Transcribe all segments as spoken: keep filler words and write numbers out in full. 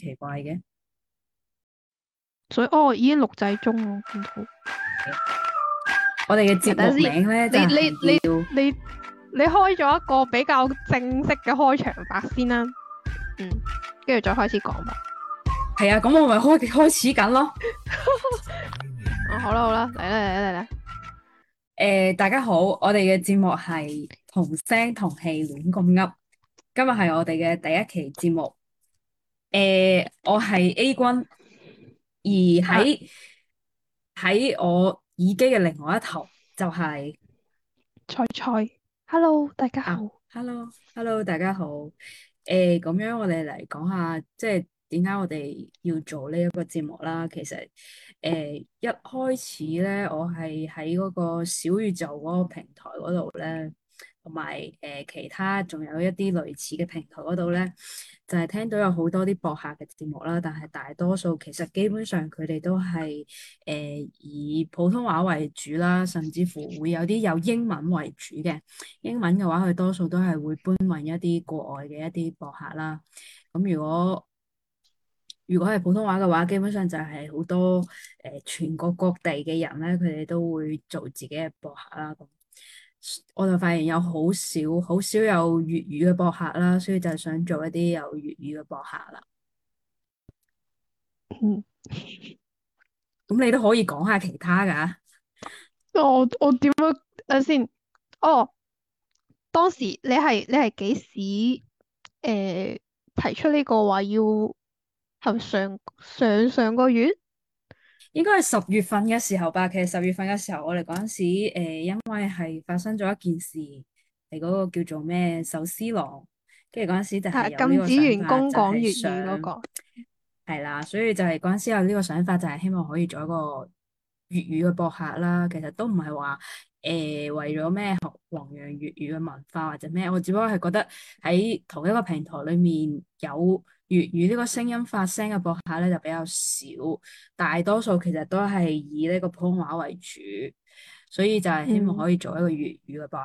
奇怪嘅？ 所以哦，已經錄製中咯，見到。 我哋嘅節目等陣先， 名咧就你你係叫你你你開咗一個比較正式嘅開場白先啦，嗯，跟住再開始講吧。 係啊，咁我咪開開始緊咯。 哦，好啦好啦，嚟啦嚟啦嚟啦， 誒、大家好，我哋嘅節目係同聲同氣亂咁噏。今日係我哋嘅第一期節目。誒、我係 A 君，而啊， 喺喺我耳機嘅另外一頭就係、 菜菜，Hello，大家啊好。 ，hello，hello，大家好。誒、咁樣我哋嚟講下，即係點解我哋要做呢一個節目啦。其實，誒、一開始咧，我係喺嗰個小宇宙嗰個平台嗰度咧，同埋誒其他仲有一啲類似嘅平台嗰度咧，就係、聽到有好多啲播客嘅節目啦。但係大多數其實基本上佢哋都係誒、以普通話為主啦，甚至乎會有啲有英文為主嘅。英文嘅話，佢多數都係會搬運一啲國外嘅一啲博客啦。咁如果如果係普通話嘅話，基本上就係好多誒、呃全國各地嘅人咧，佢哋都會做自己嘅博客啦。咁我就發現有好少好少有粵語嘅博客啦，所以就想做一啲有粵語嘅博客啦。 嗯， 咁你都可以講下其他㗎。 我我點樣等先？哦，當時你係你係幾時誒、提出呢個話要係咪上上上個月？ 應該係十月份嘅時候吧。其實十月份嘅時候，我哋嗰陣時，誒、因為係發生咗一件事，係嗰個叫做咩壽司郎，跟住嗰陣時就係係有呢個禁止員想法，就係工講粵語嗰想個。 係啦，所以就係嗰陣時有呢個想法，就係希望可以做一個粵語嘅博客啦。其實都唔係話誒為咗咩弘揚粵語嘅文化或者咩，我只不過係覺得喺同一個平台裡面有粵語呢個聲音發聲嘅博客咧就比較少，大多數其實都係以呢個普通話為主，所以就係希望嗯可以做一個粵語嘅博客。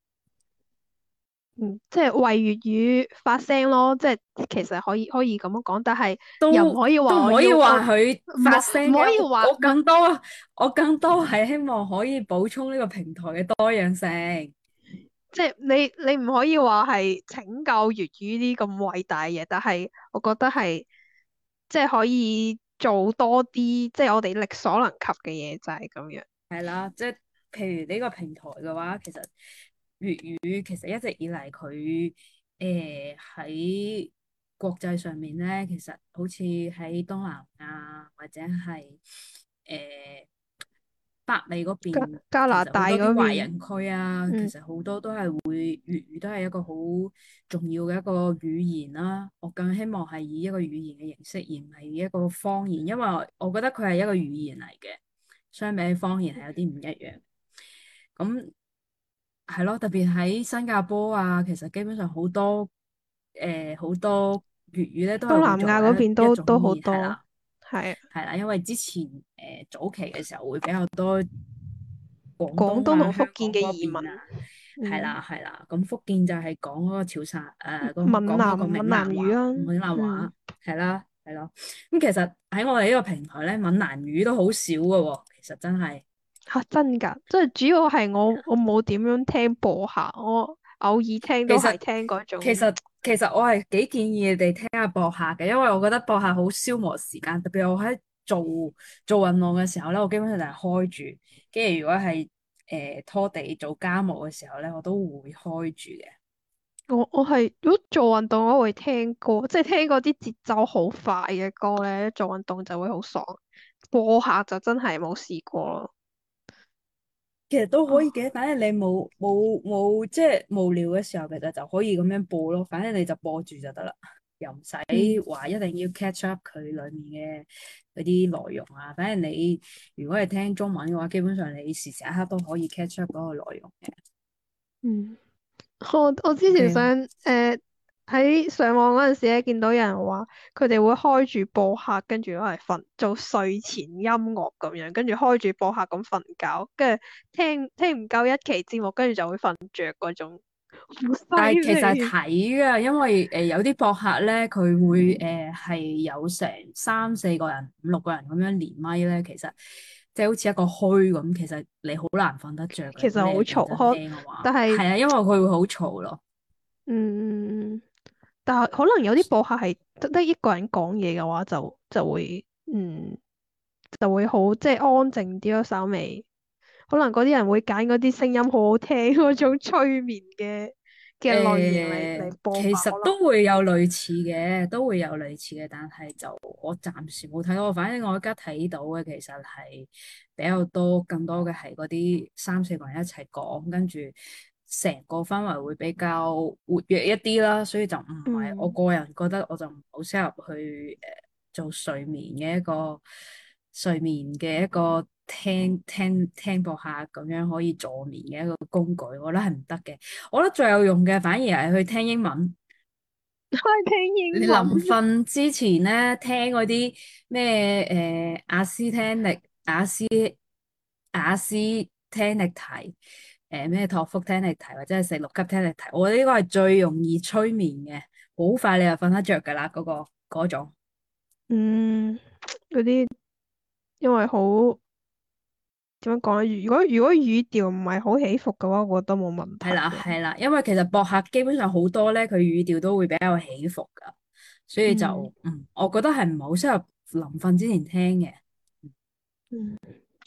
嗯，即係為粵語發聲咯，即係其實可以可以咁樣講，但係又唔都可以話我都唔可以要我話佢發唔可唔聲嘅，我我可以話唔係更多我更多係希望可以補充呢個平台嘅多樣性。 即係你你唔可以話係拯救粵語呢咁偉大嘅嘢，但係我覺得係即係可以做多啲，即係我哋力所能及嘅嘢就係咁樣。 係啦，即係譬如呢個平台嘅話，其實粵語其實一直以嚟佢誒喺國際上面咧，其實好似喺東南亞或者係誒北美嗰加邊， 加拿大其實好多啲嗰邊， 華人區啊，其嗯實好多都係會粵語都係一個好重要嘅一個語言啦。我更希望係以一個語言嘅形式，而唔係以一個方言，因為我覺得佢係一個語言嚟嘅。相比方言係有啲唔一樣，咁係咯，特別喺新加坡啊，其實基本上好多誒好、多粵語咧都係會東南亞嗰作為邊都都一一種語好多， 言係啦， 係啊， 係啦，因為之前誒、呃早期嘅時候會比較多廣廣東啊、 東同福香港建嘅移民， 嗰邊啊，係嗯， 啦係啦，咁福建就係講嗰個潮汕誒，講閩講嗰個閩南閩南南話、 語啊， 閩南嗯。 話係啦係咯，咁其實喺我哋呢個平台咧，閩南語都好少嘅喎，其實真係。 吓，真噶，即係主要係我我冇點樣聽播客，我偶爾聽都係其實聽嗰種。 其實其實我係幾建議你哋聽下播客嘅，因為我覺得播客好消磨時間，特別我喺做做運動嘅時候咧，我基本上就係開住，跟住如果係誒、呃拖地做家務嘅時候咧，我都會開住嘅。 我我係如果做運動我會聽歌，即係聽嗰啲節奏好快嘅歌咧，做運動就會好爽。播客就真係冇試過咯。 其實都可以哦， 嘅，反正你冇冇冇即係無聊嘅時候，其實就可以咁樣播咯。反正你就播住就得啦，又唔使嗯， 話一定要 catch up 佢裡面嘅嗰啲內容啊。反正你如果係聽中文嘅話，基本上你時時刻刻都可以 catch up 嗰個內容嘅。 嗯。我我之前 OK， 想誒喺上網嗰陣時咧，見到有人話佢哋會開住播客，跟住攞嚟瞓做睡前音樂咁樣，跟住開住播客咁瞓覺，跟住聽聽唔夠一期節目，跟住就會瞓着嗰種。 好犀但係其實係利。 睇㗎，因為誒、呃、有啲博客咧，佢會誒係、呃、有成三四個人、五六個人咁樣連麥咧，其實即係好似一個墟咁，其實你好難瞓得着嘅。 其實如果你係認好嘈， 真可聽嘅話， 但係係啊，因為佢會好嘈咯。 嗯，但係可能有啲播客係得得一個人講嘢嘅話就，就會嗯就會好即係安靜啲咯，稍微可能嗰啲人會揀嗰啲聲音好好聽嗰種催眠嘅嘅類型嚟嚟誒、 播吧， 其實可能。 都會有類似嘅，都會有類似嘅，但係就我暫時冇睇到。反正我而家睇到嘅其實係比較多，更多嘅係嗰啲三四個人一齊講，跟住成個氛圍會比較活躍一啲啦。所以就唔係我嗯個人覺得，我就唔好適合去誒、呃做睡眠嘅一個睡眠嘅一個聽聽聽播客咁樣可以助眠嘅一個工具，我覺得係唔得嘅。我覺得最有用嘅反而係去聽英文。 開聽你英文。 臨瞓之前咧，聽嗰啲咩誒雅思聽力、雅思雅思聽力題，誒咩托福聽力題，或者係四六級聽力題，我覺得呢個係最容易催眠嘅，好快你就瞓得着噶啦，嗰個嗰種。 嗯，嗰啲因為好點樣講咧？如果如果語調唔係好起伏嘅話，我覺得冇問係啦， 題咯。 係啦，因為其實博客基本上好多咧，佢語調都會比較起伏噶，所以就嗯嗯，我覺得係唔係好適合臨瞓之前聽嘅。 嗯，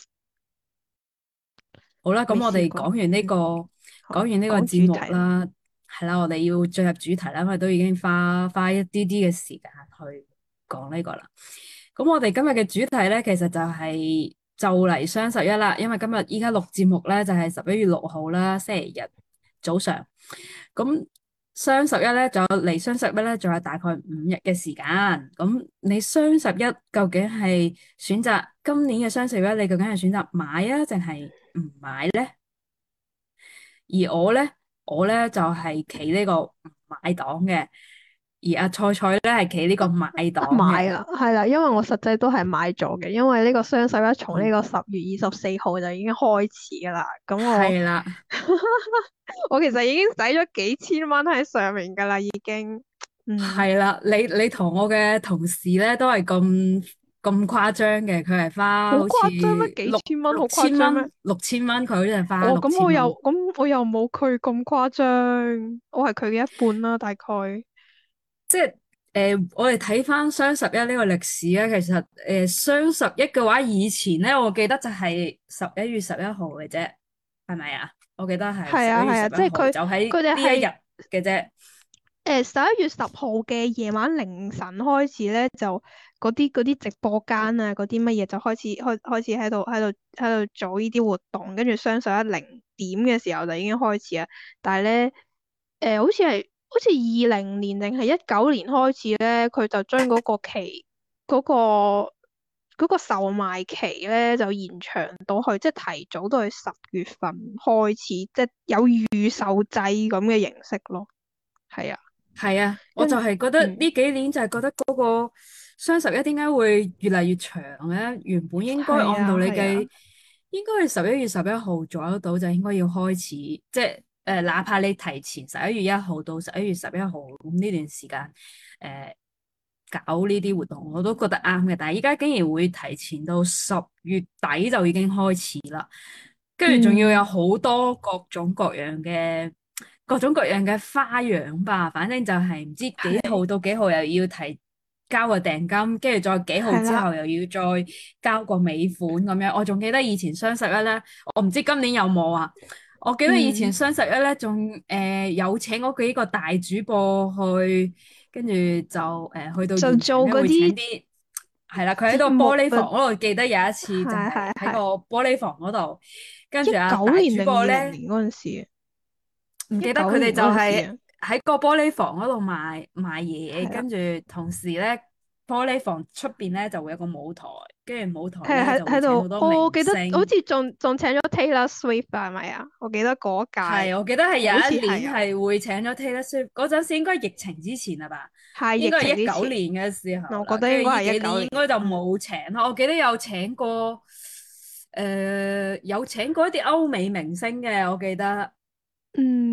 好啦，咁我未試過。 哋講完呢、 嗯， 個好， 講完呢個講節主題啦。 目啦，係啦，我哋要進入主題啦，因為都已經花花一啲啲嘅時間去講呢個啦。咁我哋今日嘅主題咧，其實就係就嚟雙十一啦，因為今日依家錄節目咧就係十一月六號啦，星期日早上。咁雙十一咧，仲有離雙十一咧，仲有大概五日嘅時間。咁你雙十一究竟係選擇今年嘅雙十一，你究竟係選擇買啊，定係唔買咧？而我咧，我咧就係企呢個唔買黨嘅，而阿菜菜咧係企呢個買黨嘅。 買啦，係啦，因為我實際都係買咗嘅，因為呢個雙十一從呢嗯， 個十月二十四號就已經開始噶啦，咁我係啦， 我其實已經使咗幾千蚊喺上面噶啦，已經，嗯， 係啦。你你同我嘅同事咧都係咁咁誇張嘅，佢係好花好似誇張咩？幾六千蚊好六誇張咩？ 千蚊，六千蚊，佢好似係花我六咁我又千蚊。 咁我又冇佢咁誇張，我係佢嘅一半啦，大概。 即係誒、呃我哋睇翻雙十一呢個歷史咧，其實誒雙十一嘅話，以前咧，我記得就係十一月十一號嘅啫，係咪啊？我記得係十一月係啊係啊， 十一號， 即係佢就喺佢哋係。 呢一日嘅啫。 誒十一月十號嘅夜晚凌晨開始咧，就嗰啲嗰啲直播間啊，嗰啲乜嘢就開始開開始喺度喺度喺度做呢啲活動，跟住雙十一零點嘅時候就已經開始啦。但係咧，誒、好似係好似二零年定係一九年開始咧，佢就將嗰個期嗰、個嗰個售賣期咧就延長到去，即係提早到去十月份開始，即係有預售制咁嘅形式咯。係啊。 係啊，我就跟係覺得嗯， 呢幾年就係覺得嗰個雙十一點解會越嚟越長咧？原本應該係啊， 按道理係啊， 計，應該係十一月十一號左右到就應該要開始，即係誒、呃，哪怕你提前十一月一號到十一月十一號咁呢段時間誒、呃搞呢啲活動，我都覺得啱嘅。但係依家竟然會提前到十月底就已經開始啦，跟住仲要有嗯， 好多各種各樣嘅。各種各樣嘅花樣吧，反正就係唔知幾係號到幾號又要提交個訂金，跟住再幾號係啦， 之後又要再交個尾款咁樣。我仲記得以前雙十一咧，我唔知今年有冇啊。我記得以前嗯， 雙十一咧，仲誒有請嗰幾個大主播去，跟住就誒、呃、去到就現場咧會請做嗰啲啲係啦，佢喺個節目嘅， 玻璃房嗰度，記得有一次就係係喺個係係玻璃房嗰度，跟一住啊大主九年定播咧。 二零年嗰陣時， 唔記得佢哋一九年就係嗰陣時啊， 喺個玻璃房嗰度賣賣嘢， 係啦， 跟住同時咧玻璃房出邊咧就會有個舞台，跟住舞台係咧喺喺度， 就會請好多明我記得好星。 似仲仲請咗 Taylor Swift 啊係咪啊？我記得嗰屆係，我記得係好似有一年係啊， 係會請咗 Taylor Swift，嗰陣時應該係疫情之前啦吧， 係疫應該係一情之前， 九年嘅時候啦， 我覺得跟應該係一住呢幾年九年， 應該就嗯冇請啦。我記得有請過，誒、有請過一啲歐美明星嘅，我記得。 嗯。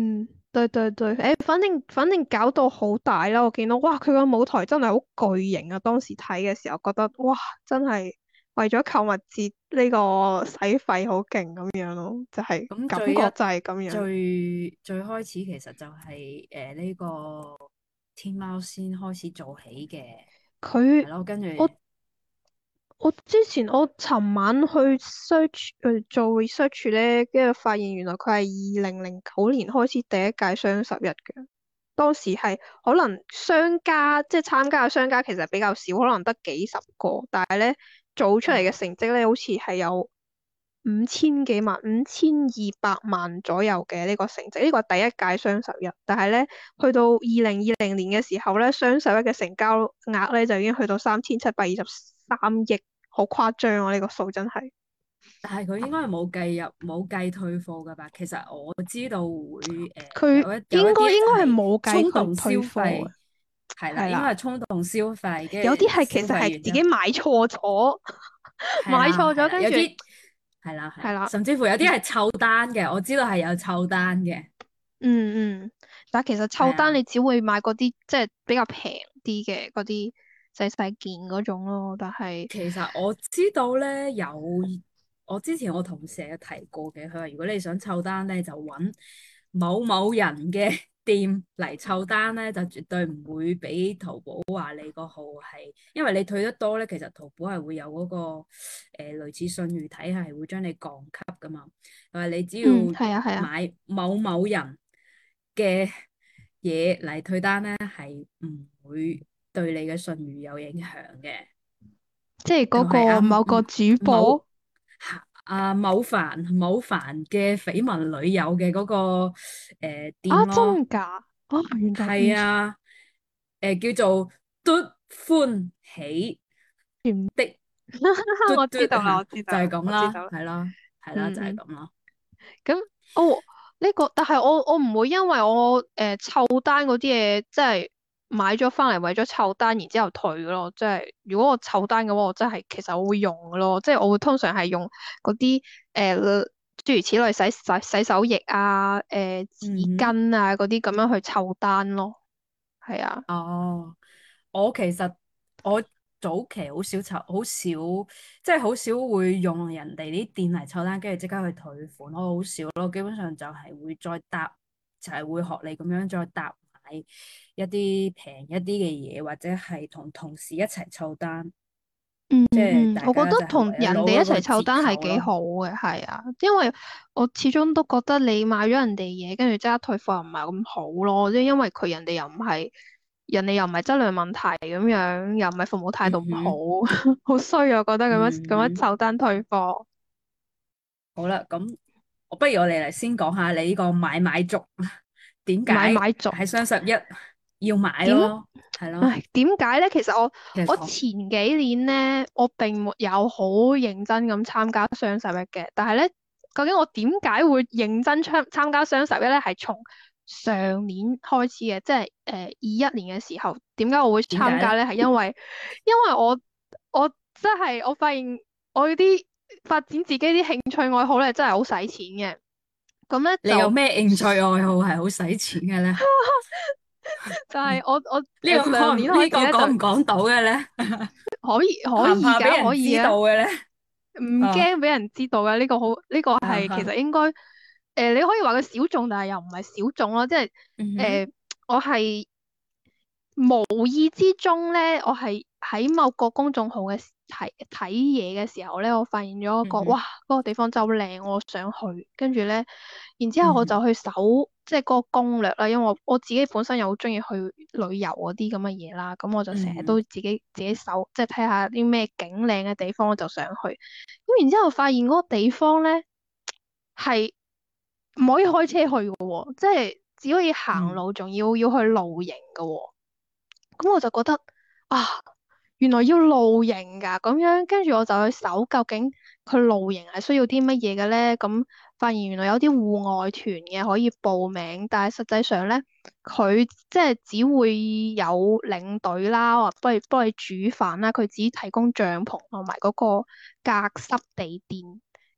對對對，誒，反正反正搞到好大啦，我見到哇，佢個舞台真係好巨型啊！當時睇嘅時候覺得哇，真係為咗購物節呢個使費好勁咁樣咯，就係、感覺咁最一就係咁樣。 最最開始其實就係誒呢個天貓先開始做起嘅， 佢係咯，跟住我我之前我尋晚去 search 誒做 research 咧，跟住發現原來佢係二零零九年開始第一屆雙十一嘅。當時係可能商家即係參加嘅商家其實比較少，可能得幾十個，但係咧做出嚟嘅哦， 成績咧，好似係有五千幾萬、五千二百萬左右嘅呢個成績。呢個係第一屆雙十一，但係咧去到二零二零年嘅時候咧，雙十一嘅成交額咧就已經去到三千七百二十三億，好誇張啊！呢個數真係。 但係佢應該係冇計入冇計退貨噶吧？其實我知道會誒、呃佢有一有一應該應該係啲就係冇計衝動消佢退貨嘅， 費，係啦，應該係啦。 係衝動消費，跟有啲係其住消實係費完之後。 自己買錯咗， 係買錯咗， 啦係啦， 跟住有啲係啦係啦， 係啦， 甚至乎有啲係湊單嘅，我知道係有湊單嘅， 嗯嗯，但係其實湊單係啊。 你只會買嗰啲即係比較平啲嘅嗰啲細細件嗰種咯，但係其實我知道咧有，我之前我同事有提過嘅，佢話如果你想湊單咧，就揾某某人嘅店嚟湊單咧，就絕對唔會俾淘寶話你個號係，因為你退得多咧，其實淘寶係會有嗰、個誒、呃、類似信譽體系，係會將你降級噶嘛。佢話你只要嗯係啊係啊， 買某某人嘅嘢嚟退單咧，係唔會對你嘅信譽有影響嘅。 即係嗰佢係阿個某個主某播阿某凡某凡嘅緋聞女友嘅嗰、個誒、呃店啊， 咯， 真㗎？啊原來係唔知啊，誒、叫做嘟歡喜唔的嘟我知道啦， 嘟嚇，就係我知道啦， 咁啦， 我知道啦， 係啦，係啦，就係嗯嗯。 咁啦。 咁哦呢個，但係我我唔會因為我誒湊單嗰啲嘢，即係買咗翻嚟為咗湊單，然之後退咯。即係如果我湊單嘅話，我真係其實我會用嘅咯。即係我會通常係用嗰啲誒諸如此類洗洗洗手液啊、誒、紙嗯哼。 巾啊嗰啲咁樣去湊單咯。係啊。 哦，我其實我早期好少湊，好少即係好少會用人哋啲店嚟湊單，跟住即刻去退款。我好少咯，基本上就係會再搭，就係、會學你咁樣再搭買一啲平一啲嘅嘢，或者係同同事一齊湊單， 嗯即係嗯，我覺大家就係得同為咗攞人哋一齊湊嗰個折單係幾扣咯。 好嘅，係啊，因為我始終都覺得你買咗人哋嘢，跟住即刻退貨又唔係咁好咯，即係因為佢人哋又唔係，人哋又唔係質量問題咁樣，又唔係服務態度唔嗯哼， 好，好衰啊！我覺得咁樣咁樣嗯哼， 湊單退貨。 好啦，咁我不如我哋嚟先講下你呢個買買族點解買買族喺雙十一要買點？ 咯，係咯。 唉，點解咧？其實我我其實同前幾年咧，我並沒有好認真咁參加雙十一嘅。但係咧，究竟我點解會認真參參加雙十一咧？係從上年開始嘅，即係誒二一年嘅時候，點解我會點解咧？ 參加咧？係因為因為我我真係我發現我啲發展自己啲興趣愛好咧，真係好使錢嘅。咁咧就你有咩興趣愛好係好使錢嘅咧？ 就係我我呢個誒上年講呢個開始咧就講唔講到嘅咧？ 可以可怕唔以㗎，可怕俾人以嘅。 知道嘅咧？ 唔啊驚俾人知道嘅呢個好，呢個係其啊啊， 實應該誒、呃，你可以話佢小眾，但係又唔係小眾咯，即係誒、 嗯哼， 呃，我係無意之中咧，我係喺某個公眾號嘅睇睇嘢嘅時候咧，我發現咗一個哇， 嗯哼， 嗰、個地方真係好靚，我想去。跟住咧，然之後我就嗯哼， 去搜即係嗰個攻略啦，因為我我自己本身又好中意去旅遊嗰啲咁嘅嘢啦，咁我就成日都嗯哼， 自己自己搜，即係睇下啲咩景靚嘅地方，我就想去。咁然之後發現嗰個地方咧係唔可以開車去嘅喎，即係只可以行嗯路，仲要要去露營嘅喎。咁我就覺得啊，原來要露營㗎，咁樣跟住我就去搜究竟佢露營係需要啲乜嘢嘅咧？咁發現原來有啲戶外團嘅可以報名，但係實際上咧，佢即係只會有領隊啦，或幫你幫你煮飯啦，佢只提供帳篷同埋嗰個隔濕地墊。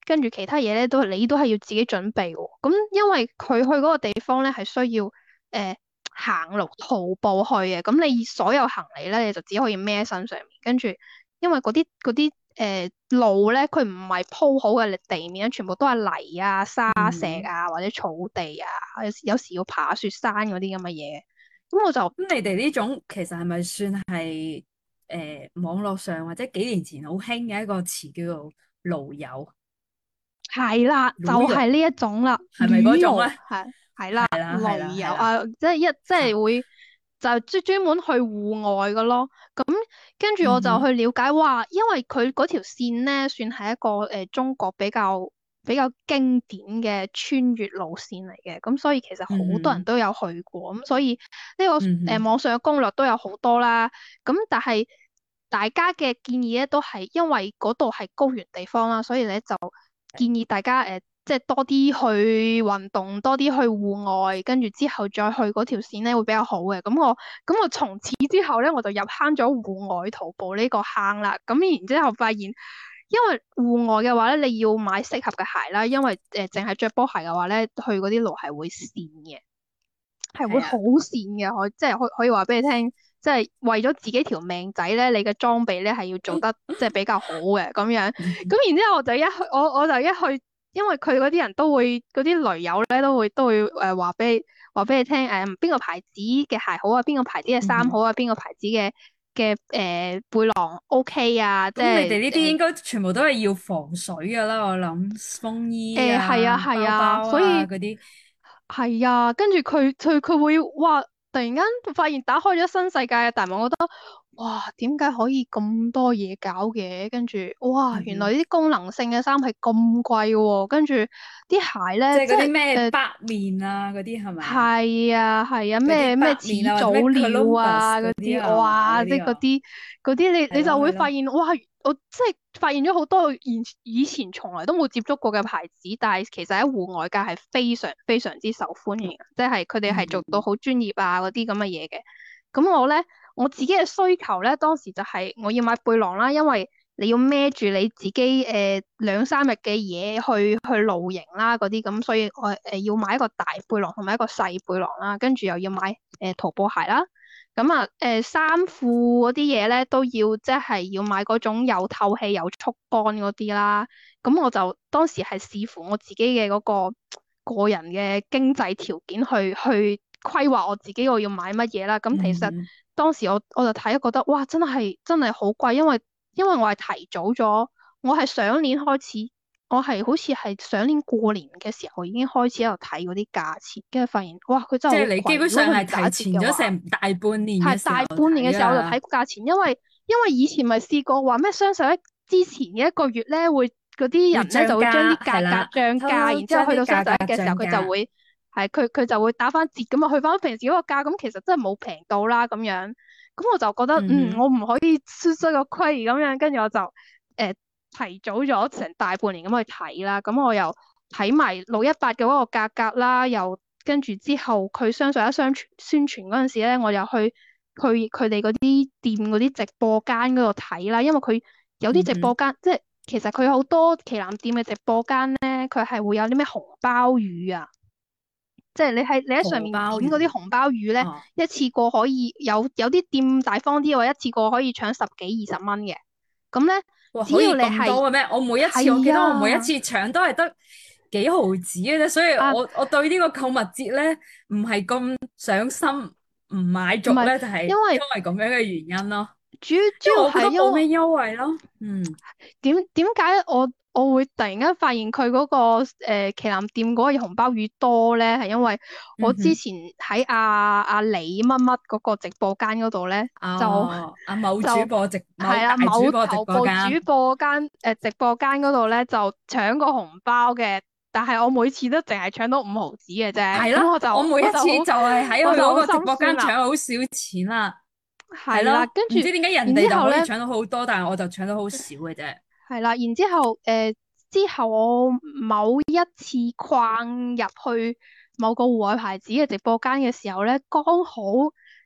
跟住其他嘢咧都你都係要自己準備喎。咁因為佢去嗰個地方咧係需要誒、呃、行路徒步去嘅，咁你所有行李咧你就只可以孭喺身上面，跟住因為嗰啲嗰啲誒路咧佢唔係鋪好嘅地面，全部都係泥啊、沙石嗯。 啊或者草地啊，有時有時要爬雪山嗰啲咁嘅嘢。咁我就咁你哋呢種其實係咪算係誒、呃、網絡上或者幾年前好興嘅一個詞叫做驢友、 係啦，就驢友， 係呢一種啦， 係咪嗰種旅遊咧？ 係係啦， 係啦，係啦， 旅遊係啦。 啊，即係一即嚇。 係會就專專門去戶外嘅咯。咁跟住我就嗯哼。 去了解，哇，因為佢嗰條線咧算係一個誒、呃、中國比較比較經典嘅穿越路線嚟嘅，咁所以其實嗯好多人哼。 都有去過，咁所以呢、個誒、呃、 嗯哼。 網上嘅攻略都有好多啦。咁但係大家嘅建議咧都係因為嗰度係高原地方啦，所以咧就建議大家誒、呃即係多啲去運動，多啲去戶外，跟住之後再去嗰條線咧會比較好嘅。咁我咁我從此之後咧我就入坑咗戶外徒步呢個坑啦。咁然之後發現，因為戶外嘅話咧，你要買適合嘅鞋啦，因為誒淨係着波鞋嘅話咧，去嗰啲路係會跣嘅。係會好係啊。 跣嘅，可即係可可以話俾你聽，即係為咗自己條命仔咧，你嘅裝備咧係要做得即係比較好嘅咁樣。咁然之後我就一去，我我就一去，因為佢嗰啲人都會嗰啲雷友咧都會都會誒話俾話俾你聽誒邊個牌子嘅鞋好啊，邊個牌子嘅嗯哼。 衫好啊，邊個牌子嘅嘅誒背囊 OK 啊，即咁你係哋呢啲應該全部都係要防水噶啦，我諗風衣誒係啊啊、包係啊， 包啊所以。 嗰啲。 係啊，跟住佢佢佢會哇，突然間發現打開咗新世界嘅大門，我覺得哇，點解可以咁多嘢搞嘅？跟住哇，原來嗯哼。 呢啲功能性嘅衫係咁貴喎，跟住啲鞋咧， 即係嗰啲即係誒咩北面啊嗰啲係咪啊？ 係啊係啊， 嗰啲咩咩始北面啊或者咩祖鳥 Columbus 啊嗰啲， 嗰啲啊係嘛？ 哇！ 嗰啲啊。 即係嗰啲嗰啲，你係你就會咯係咯。 發現哇，我即係發現咗好多以以前從來都冇接觸過嘅牌子，但係其實喺戶外界係非常非常之受歡迎嘅，即係佢哋係做到嗯。 好專業啊嗰啲咁嘅嘢嘅。咁我咧我自己嘅需求咧，當時就係我要買背囊啦，因為你要孭住你自己誒兩三日嘅嘢去去露營啦嗰啲咁，所以我誒、呃、要買一個大背囊同埋一個細背囊啦，跟住又要買誒、呃、徒步鞋啦。咁啊誒衫褲嗰啲嘢咧都要即係要買嗰種有透氣有速乾嗰啲啦。咁我就當時係視乎我自己嘅嗰個個人嘅經濟條件去去規劃我自己我要買乜嘢啦。咁其實嗯哼。 當時我我就睇覺得哇，真係真係好貴，因為因為我係提早咗，我係上年開始，我係好似係上年過年嘅時候已經開始喺度睇嗰啲價錢，跟住發現哇，佢真係好即係你基貴。如果本上係佢唔打折提前咗嘅話， 成大半年係嘅時候大半年嘅睇時候我就睇啦。 價錢，因為因為以前咪試過話咩雙十一之前嘅一個月咧，會嗰啲會人咧就會將漲價啲價格係啦， 漲價， 偷偷然之後去到雙將啲價格十一嘅時候，佢就漲價。 會係佢佢就會打翻折咁啊，去翻平時嗰個價，咁其實真係冇平到啦咁樣。咁我就覺得嗯， 嗯哼。 我唔可以輸出個虧咁樣，跟住我就誒、呃、提早咗成大半年咁去睇啦。咁我又睇埋六一八嘅嗰個價格啦，又跟住之後佢雙十一宣傳宣傳嗰陣時咧，我又去去佢哋嗰啲店嗰啲直播間嗰度睇啦，因為佢有啲直播嗯哼。 間即係其實佢有好多旗艦店嘅直播間咧，佢係會有啲咩紅包魚啊。即係你喺你喺上荷面點包魚。 嗰啲紅包魚咧， 哦。 一次過可以有有啲店大方啲喎，一次過可以搶十幾二十蚊嘅。咁咧， 哇， 只可以要你係咁多嘅咩？我每一次我記係得我每一次啊搶都係得幾毫子嘅啫，所以啊， 我我對呢個購物節咧唔係咁上心，唔買唔係足咧就係因因為為咁樣嘅原因咯， 主要主要因為我覺得係因為冇咩優惠咯。嗯。 點點解我我會突然間發現佢嗰、個誒、呃、旗艦店嗰個紅包魚多咧？係因為我嗯哼。 之前喺阿阿李乜乜嗰個直播間嗰度咧，就哦，阿某主就播直某大係啊，某主播直頭部主播間。 播間誒、呃、直播間嗰度咧就搶個紅包嘅，但係我每次都淨係搶到五毫子嘅啫， 係咯， 咁我就我每一次我就好就係喺佢我就好心嗰個直播間酸啦， 搶好少錢啦。係係啦， 咯， 跟住唔知點解人然之後咧。 哋就可以搶到好多，但係我就搶到好少嘅啫。 係啦，然之後誒、呃，之後我某一次逛入去某個戶外牌子嘅直播間嘅時候咧，剛好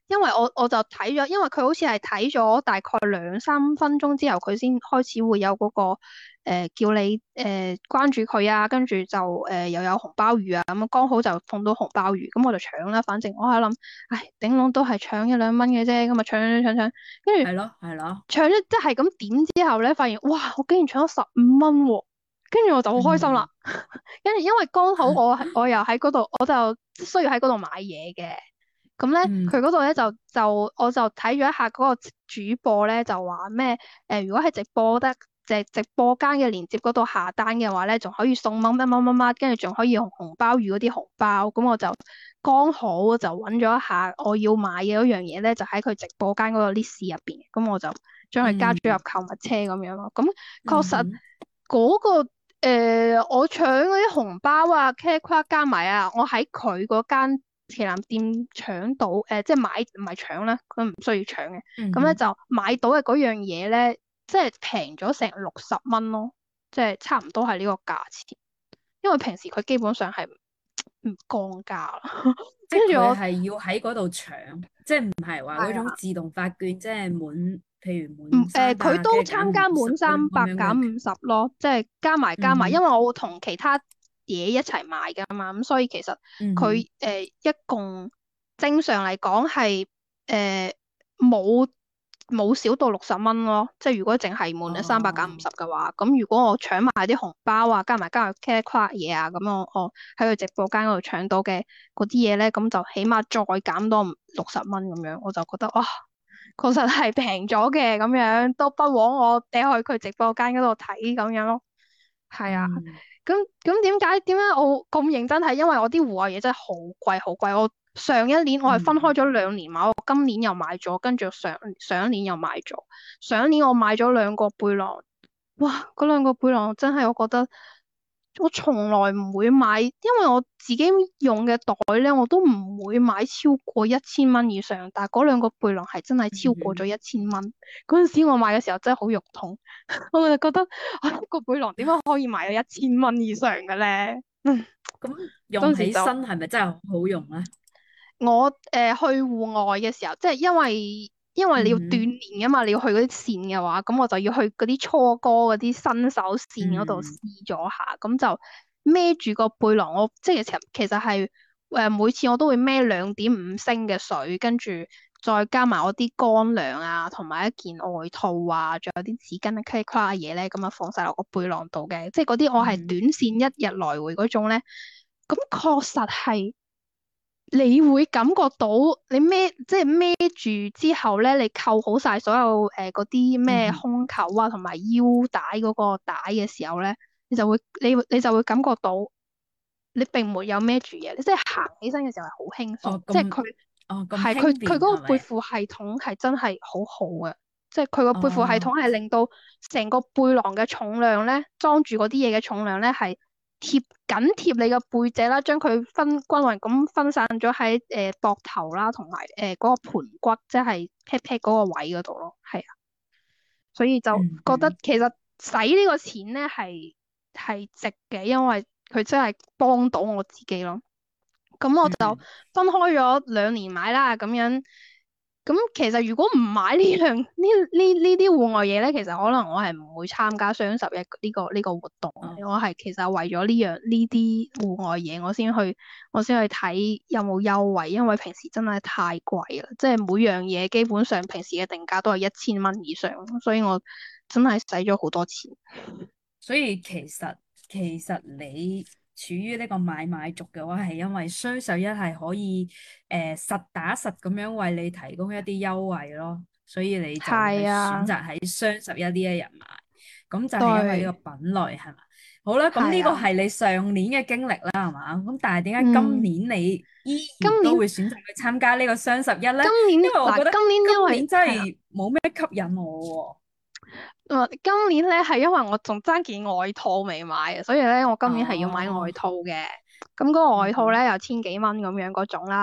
因為我我就睇咗，因為佢好似係睇咗大概兩三分鐘之後，佢先開始會有嗰、個誒、呃叫你誒、呃、關注佢啊，跟住就誒、呃、又有紅鮑魚啊，咁剛好就碰到紅鮑魚，咁我就搶啦。反正我喺度諗，唉，頂籠都係搶一兩蚊嘅啫，咁啊搶搶搶搶，跟住係咯係咯， 搶咗即係咁點之後咧，發現哇，我竟然搶咗十五蚊喎，跟住我就好開心啦。 嗯跟住因為剛好我係我又喺嗰度，我就需要喺嗰度買嘢嘅。咁咧， 嗯佢嗰度咧就就我就睇咗一下嗰個主播咧，就話咩誒，如果喺直播得直直播間嘅鏈接嗰度下單嘅話咧，仲可以送乜乜乜乜乜，跟住仲可以用紅鮑魚嗰啲紅包。咁我就剛好就揾咗一下我要買嘅嗰樣嘢咧，就喺佢直播間嗰個 list 入邊。咁我就將佢加咗入嗯購物車咁樣咯。咁確實嗯哼嗰、個。誒、我搶嗰啲紅包啊、茄夸加埋啊，我喺佢嗰間旗艦店搶到，誒、即係買唔係搶啦，佢唔需要搶嘅，咁咧嗯哼就買到嘅嗰樣嘢咧，即係平咗成六十蚊咯，即係差唔多係呢個價錢，因為平時佢基本上係唔降價啦， 即係跟住我佢係要喺嗰度搶，即係唔係話嗰種係啊。 自動發券，即係滿，譬如唔誒， 滿三佢、 百跟住減都參加五十嗰種滿三咁樣嘅。 百減五十咯，即係加埋加埋，因嗯哼為我會同其他嘢一齊買噶嘛，咁所以其實佢誒、 嗯哼呃一共正常嚟講係誒冇冇少到六十蚊咯，即係如果淨係滿咗三百減五哦十嘅話，咁如果我搶埋啲紅包啊，加埋加埋 cash 嘢啊，咁我我喺佢直播間嗰度搶到嘅嗰啲嘢咧，咁就起碼再減多六十蚊咁樣，我就覺得哇！確實係平咗嘅，咁樣都不枉我哋去佢直播間嗰度睇咁樣咯。係啊， 嗯咁咁點解點解我咁認真係因為我啲戶外嘢真係好貴好貴。我上一年我係分開嗯咗兩年買，我今年又買咗，跟住上上一年又買咗。上一年我買咗兩個背囊，哇！嗰兩個背囊真係我覺得。我從來唔會買，因為我自己用嘅袋咧，我都唔會買超過一千蚊以上。但係嗰兩個背囊係真係超過咗嗯一千蚊。嗰陣時我買嘅時候真係好肉痛，我就覺得啊，一個背囊點解可以賣到一千蚊以上嘅咧？嗯， 哼，咁用起當時就身係咪真係好好用咧？ 我誒、呃去戶外嘅時候，即係因為因為你要鍛嗯哼鍊噶嘛，你要去嗰啲線嘅話，咁我就要去嗰啲初哥嗰啲新手線嗰度試嗯咗下，咁就孭住個背囊，我即係其實其實係誒、呃每次我都會孭兩點五升嘅水，跟住再加埋我啲乾糧啊，同埋一件外套啊，仲有啲紙巾啊、卡卡嘅嘢咧，咁啊放晒落個背囊度嘅，即係嗰啲我係嗯短線一日來回嗰種咧，咁確實係。你會感覺到你孭即係孭住之後咧，你扣好晒所有誒嗰啲咩嗯哼胸口啊同埋腰帶嗰個帶嘅時候咧，你就會你你就會感覺到你並沒有孭住嘢，你即係行起身嘅時候係好輕鬆， 哦咁即係佢哦咁係佢輕佢嗰個背便係咪？ 負系統係真係好好嘅，即係佢個背負系哦統係令到成個背囊嘅重量咧，裝住嗰啲嘢嘅重量咧係貼緊貼你個背脊啦，將佢分均勻咁分散咗喺誒膊頭啦，同埋誒嗰個盤骨，即係 pat pat 嗰個位嗰度咯，係啊，所以就覺得嗯嗯其實使呢個錢咧係係值嘅，因為佢真係幫到我自己咯。咁我就嗯分開咗兩年買啦，咁樣。咁其實如果唔買呢樣呢呢呢啲戶外嘢咧，其實可能我係唔會參加雙十一呢個呢個活動哦嘅。我係其實為咗呢樣呢啲戶外嘢，我先去我先去睇有冇優惠，因為平時真係太貴啦，即係每樣嘢基本上平時嘅定價都係一千蚊以上，所以我真係使咗好多錢。 所以其實其實你處於呢個買買族嘅話，係因為雙十一係可以誒、呃、實打實咁樣為你提供一啲優惠咯，所以你就會係係啊， 選擇喺雙十一呢一日買，咁就係因為呢對， 個品類係嘛？好啦，咁呢個係啊， 係你上年嘅經歷啦，係嘛？咁但係點解今嗯， 年你依然今年都會選擇去參加呢個雙十一咧？ 今年因為我覺得嗱今年因今年真為係啦。 係冇咩吸引我我今年咧係因為我仲爭件外套未買啊，所以咧我喎。 今年係要買外哦， 套嘅。咁嗰個外套嗯哼。 咧有千幾蚊咁樣嗰種啦，女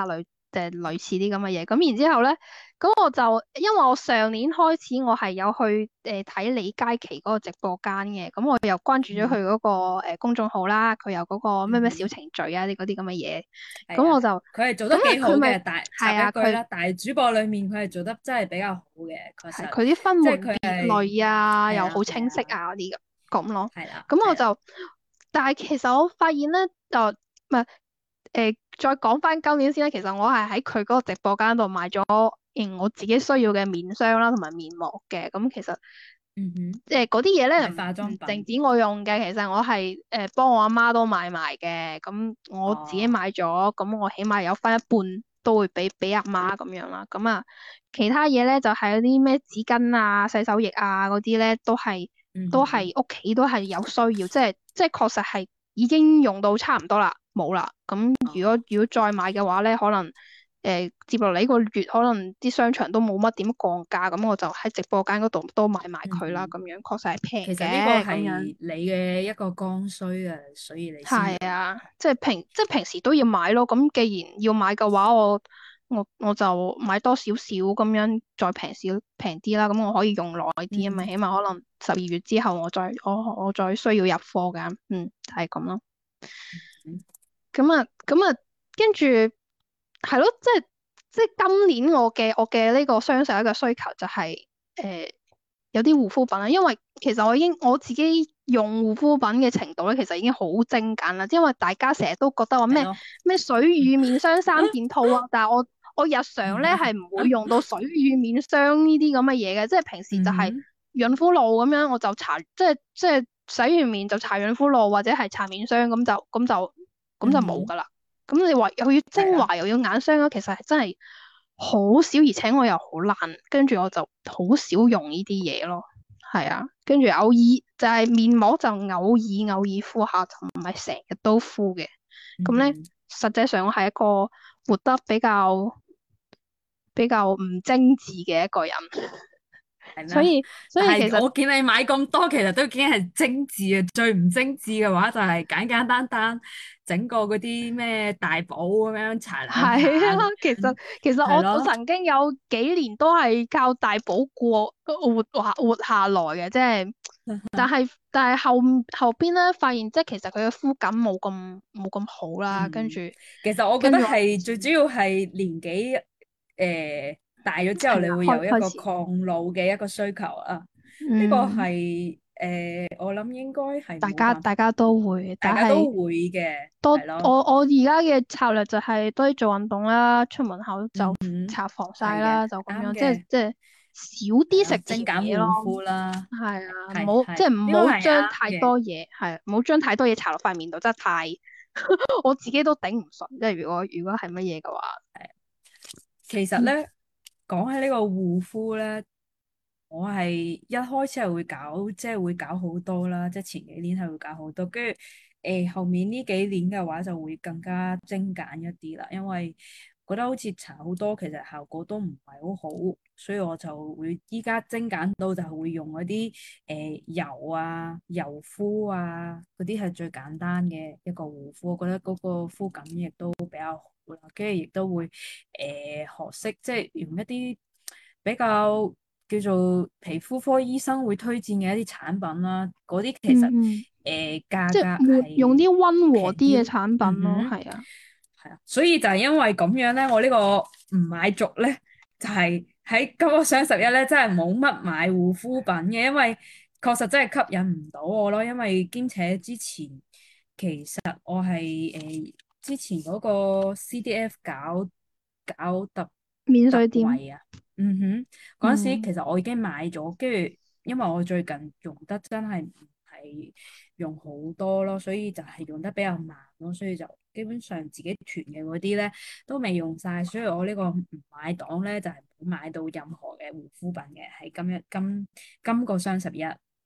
誒類似啲咁嘅嘢。咁然之後咧，咁我就因為我上年開始我係有去誒睇李佳琦嗰個直播間嘅，咁我又關注咗佢嗯嗰個誒公眾號啦，佢有嗰個咩咩小嗯哼， 程序啊啲嗰啲咁嘅嘢， 係啊， 咁我就佢係做咁啊得幾好佢咪嘅，大插係啊佢。 一句啦，大主播裏面佢係做得真係比較好嘅，確實， 係佢啲分即係門別佢係類啊，又好係啊係清晰啊啊嗰啲咁咁咯。 係啦係啦， 咁我就，但係其實我發現咧，就唔係誒，再講翻今年先啦。其實我係喺佢嗰個直播間度買咗嗯我自己需要嘅面霜啦，同埋面膜嘅。咁其實嗯哼， 即係嗰啲嘢咧，唔係化唔妝品， 淨止我用嘅，其實我係誒幫我阿媽都買埋嘅。咁我自己哦， 買咗，咁我起碼有翻一半都會俾俾阿媽咁樣啦。咁啊，其他嘢咧就係嗰啲咩紙巾啊、洗手液啊嗰啲咧，都係都嗯哼， 係屋企都係有需要，即係即係確實係已經用到差唔多啦，冇啦。咁如果哦， 如果再買嘅話咧，可能。誒、接落嚟呢個月可能啲商場都冇乜點降價，咁我就喺直播間嗰度都買埋佢啦， 嗯哼。 咁樣確實係平其實呢個嘅，咁樣係你嘅一個剛需啊，所以你先要買。 係啊，即係平即係平時都要買咯。咁既然要買嘅話，我我我就買多少少咁樣，再平少平啲啦。咁我可以用耐啲啊嘛， 嗯哼， 起碼可能十二月之後我再我我再需要入貨㗎。嗯，就係咁咯。 嗯咁啊，咁啊，跟住係咯，即係即係今年我嘅我嘅呢個雙十一嘅需求就係、誒、有啲護膚品啦，因為其實我已經我自己用護膚品嘅程度咧，其實已經好精簡啦，因為大家成日都覺得話咩係咯， 咩水乳面霜三件套啊，但係我我日常咧係唔會用到水乳面霜呢啲咁嘅嘢嘅，即係平時就係嗯哼， 潤膚露咁樣，我就搽即係即係洗完面就搽潤膚露或者係搽面霜咁就咁就咁就嗯哼， 冇噶啦。咁你話又要係啊， 精華又要眼霜啊，其實係真係好少，而且我又好懶，跟住我就好少用呢啲嘢咯。係啊，跟住偶爾就係面膜就偶爾偶爾敷下，就唔係成日都敷嘅。咁咧， 嗯哼， 實際上我係一個活得比較比較唔精緻嘅一個人， 係咩？ 所以所但以其實係我見你買咁多，其實都已經係精緻啊。最唔精緻嘅話就係簡簡單單整個嗰啲咩大寶咁樣搽兩係啊， 下咁其實樣， 其實我我係咯。 曾經有幾年都係靠大補過活下活下來嘅，即係，但係但係後後邊咧發現，即係其實佢嘅膚感冇咁冇咁好啦，跟住嗯，其實我覺得跟住我係最主要係年紀誒、呃大咗之後， 係啦， 你會有一個開開始， 抗老嘅一個需求啊。呢、個嗯， 係誒、呃我諗應該係大冇辦法， 家大家都會，但係大家都會嘅， 多係咯。 我我而家嘅策略就係多啲做運動啦，出門口就嗯， 搽防曬係嘅， 啦，就咁樣，即係啱嘅， 即係少係咯， 啲食甜精簡嘢咯。 護膚啦， 係啊，唔好即係係， 係唔呢、個好係啱將太嘅。 多嘢，係唔好將太多嘢搽落塊面度，真係太我自己都頂唔順。即係如果如果係乜嘢嘅話， 其實嗯咧，講起呢個護膚咧。我係一開始係會搞，即係會搞好多啦，即係前幾年係會搞好多，跟住誒後面呢幾年嘅話就會更加精簡一啲啦，因為覺得好似搽好多其實效果都唔係好好，所以我就會依家精簡到就係會用嗰啲誒油啊、油敷啊嗰啲係最簡單嘅一個護膚，我覺得嗰個膚感亦都比較好啦，跟住亦都會誒、呃、學識即係用一啲比較。叫做皮膚科醫生會推薦嘅一啲產品啦，嗰啲其實誒、 嗯嗯， 呃、價格即係換用係啲溫和啲嘅平啲， 產品咯， 嗯哼， 係啊， 係啊，所以就係因為咁樣咧，我呢個唔買族咧，就係喺今個雙十一咧，真係冇乜買護膚品嘅，因為確實真係吸引唔到我咯，因為兼且之前其實我係誒、呃、之前嗰個 C D F 搞搞特特免稅店， 惠啊。嗯哼，嗰陣時嗯其實我已經買咗，跟住因為我最近用得真係唔係用好多咯，所以就係用得比較慢咯，所以就基本上自己囤嘅嗰啲咧都未用晒，所以我呢個唔買檔咧就係冇買到任何嘅護膚品嘅，係今日今今個雙十一。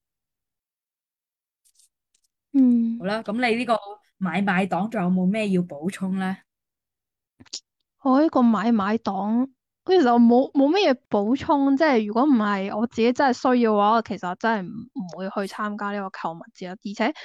好嗯， 啦，咁你呢個買買檔仲有冇咩要補充咧？ 我呢個買買黨，其實我冇冇乜嘢補充，即係如果唔係我自己真係需要嘅話，我其實真係唔唔會去參加呢個購物節啦，而且。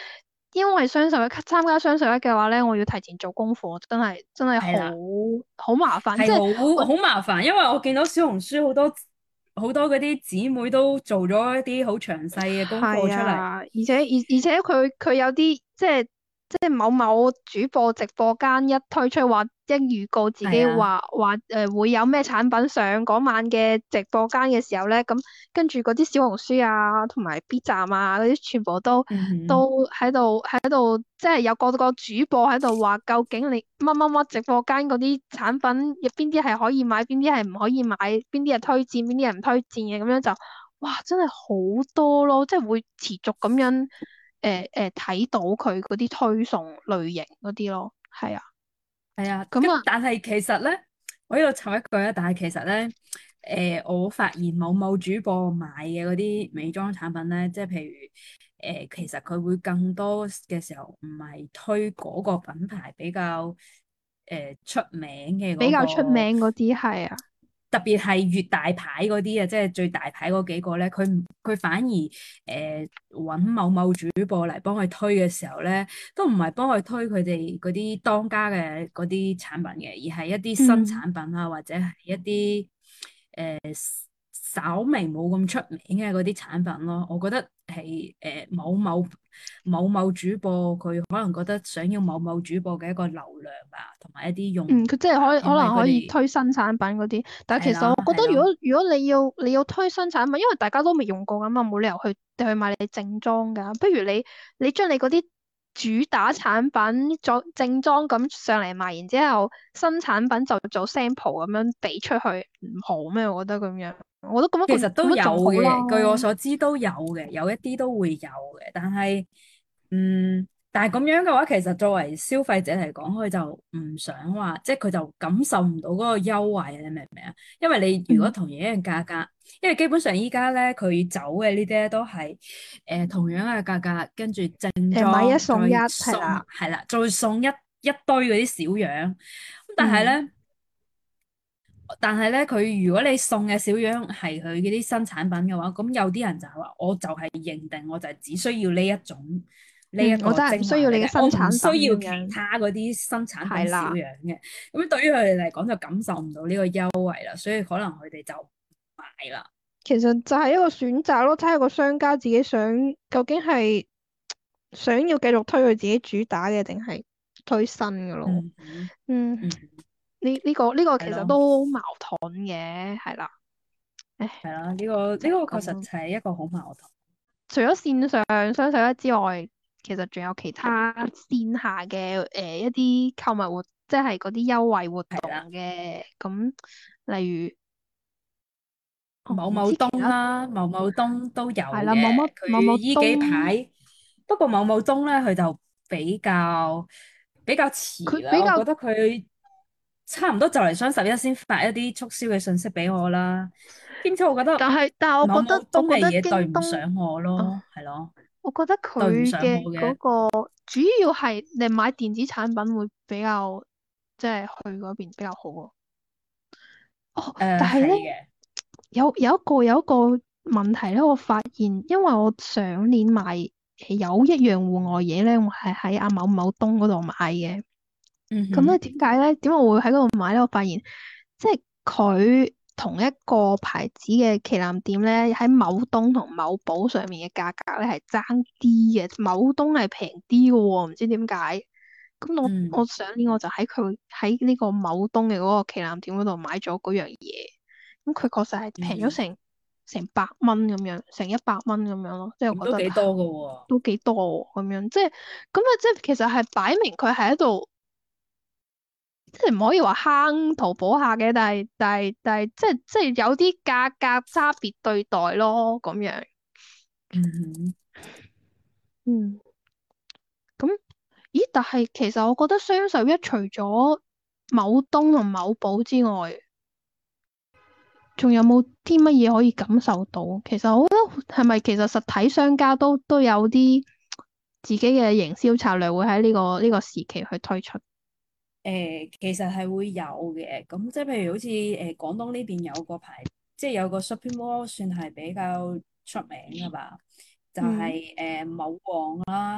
因為雙十一參加雙十一嘅話咧，我要提前做功課，真係真係好係啦， 好麻煩。即係係我好好麻煩，因為我見到小紅書好多好多嗰啲姊妹都做咗一啲好詳細嘅功課出嚟。 係啊，而且而而且佢佢有啲即係即係某某主播直播間一推出話一預告自己係啊， 話話誒會有咩產品上嗰晚嘅直播間嘅時候咧，咁跟住嗰啲小紅書啊同埋 B 站啊嗰啲全部都嗯哼， 都喺度喺度，即係有個個主播喺度話究竟你乜乜乜直播間嗰啲產品入邊啲係可以買，邊啲係唔可以買，邊啲係推薦，邊啲係唔推薦嘅，咁樣就。哇，真係好多咯，即係會持續咁樣誒誒睇到佢嗰啲推送類型嗰啲咯，係啊， 係啊。 咁啊， 咁但係其實咧，我呢度插一句啊，但係其實咧，誒、我發現某某主播買嘅嗰啲美妝產品咧，即係譬如誒、其實佢會更多嘅時候唔係推嗰個品牌比較誒、出名嘅嗰比較出個。 名嗰啲係啊， 特別係越大牌嗰啲啊，即係最大牌嗰幾個咧，佢唔佢反而誒揾、某某主播嚟幫佢推嘅時候咧，都唔係幫佢推佢哋嗰啲當家嘅嗰啲產品嘅，而係一啲新嗯。 產品啊，或者係一啲誒、稍微冇咁出名嘅嗰啲產品咯。我覺得係誒、某某某某主播佢可能覺得想要某某主播嘅一個流量啊，同埋一啲用嗯，佢即係戶啊， 可以可因為能可以佢哋推新產品嗰啲，但係係啦其實我覺得係啦。 如果如果你要你要推新產品，因為大家都未用過咁嘛，冇理由去去買你正裝㗎。不如你你將你嗰啲主打產品做正裝咁上嚟賣，然之後新產品就做 sample 咁樣俾出去，唔好咩？我覺得咁樣，我覺得咁樣咁其實都有咁樣仲好嘅，據我啦。 所知都有嘅，有一啲都會有嘅。但係，嗯，但係咁樣嘅話，其實作為消費者嚟講，佢就唔想話，即係佢就感受唔到嗰個優惠，你明唔明啊？因為你如果嗯， 同樣一樣價格，因為基本上依家咧佢走嘅呢啲咧都係誒、呃同樣嘅價格，跟住正誒買一裝再送一係送啦， 係啦，再送一一堆嗰啲小樣。咁但係嗯咧。但係咧，佢如果你送嘅小樣係佢嗰啲新產品嘅話，咁有啲人就係話，我就係認定，我就係只需要呢一種呢一嗯，我個真係唔需要你嘅精華嚟嘅，我唔新產需要其品咁樣， 他嗰啲新產品小係啦。 樣嘅。咁對於佢哋嚟講就感受唔到呢個優惠啦，所以可能佢哋就唔買啦。 其實就係一個選擇咯，睇下個商家自己想究竟係想要繼續推佢自己主打嘅，定係推新嘅咯。 嗯哼， 嗯， 嗯哼， 呢呢個呢個其實係咯， 都矛盾嘅，係啦。唉， 係啦，呢個呢就係個確實咁咯。 係一個好矛盾。 除咗線上雙十一之外，其實仲有其他線下嘅誒、呃、一啲購物活，即係嗰啲優惠活動係啦。 嘅。咁例如，我唔某某東知其他啦，某某東都有係啦，某嘅。 某某某佢依幾東。 排，不過某某東咧，佢就比較比較遲啦。 佢比較我覺得佢差唔多就嚟雙十一先發一啲促銷嘅信息俾我啦。兼且我覺得但係，但係我覺得， 某某東我覺得嘅嘢對京東， 唔上我啊， 咯，係咯， 我覺得對唔佢嘅上我嘅。 嗰個主要係你買電子產品會比較，即係去嗰邊比較好咯。哦，但誒， 係咧， 係嘅。 有有一個有一個問題咧，我發現，因為我上年買誒有一樣戶外嘢咧，我係喺阿某某東嗰度買嘅。咁咧嗯哼， 點解咧？點解我會喺嗰度買咧？我發現即係佢同一個牌子嘅旗艦店咧，喺某東同某寶上面嘅價格咧係爭啲嘅，某東係平啲嘅喎，唔知點解。咁我嗯我上年我就喺佢喺呢個某東嘅嗰個旗艦店嗰度買咗嗰樣嘢，咁佢確實係嗯哼， 平咗成成百蚊咁樣，成一百蚊咁樣咯，即係咁我覺得都幾多噶喎。 都幾多喎咁樣，即係咁啊！即係其實係擺明佢係喺度。即係唔可以話坑淘寶客嘅，但係但係但係即係即係有啲價格差別對待咯，咁樣。 嗯哼。 嗯，咁咦？但係其實我覺得雙十一除咗某東同某寶之外，仲有冇啲乜嘢可以感受到？其實我覺得係咪其實實體商家都都有啲自己嘅營銷策略會喺呢個呢個時期去推出。 誒、其實係會有嘅，咁即係譬如好似誒、廣東呢邊有個牌，即係有個 shopping mall 算係比較出名噶吧，就嗯係、誒、某旺啦。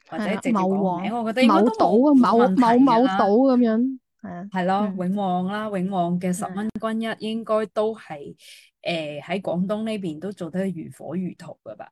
或者係啊， 直接講個名， 某王、 我覺得應該某都冇島啊，某冇問題某某島㗎啦。 咁樣，係啊， 係咯， 嗯， 永旺啦，永旺嘅十蚊嗯， 均一應該都係誒喺廣東呢邊都做得如火如荼㗎吧？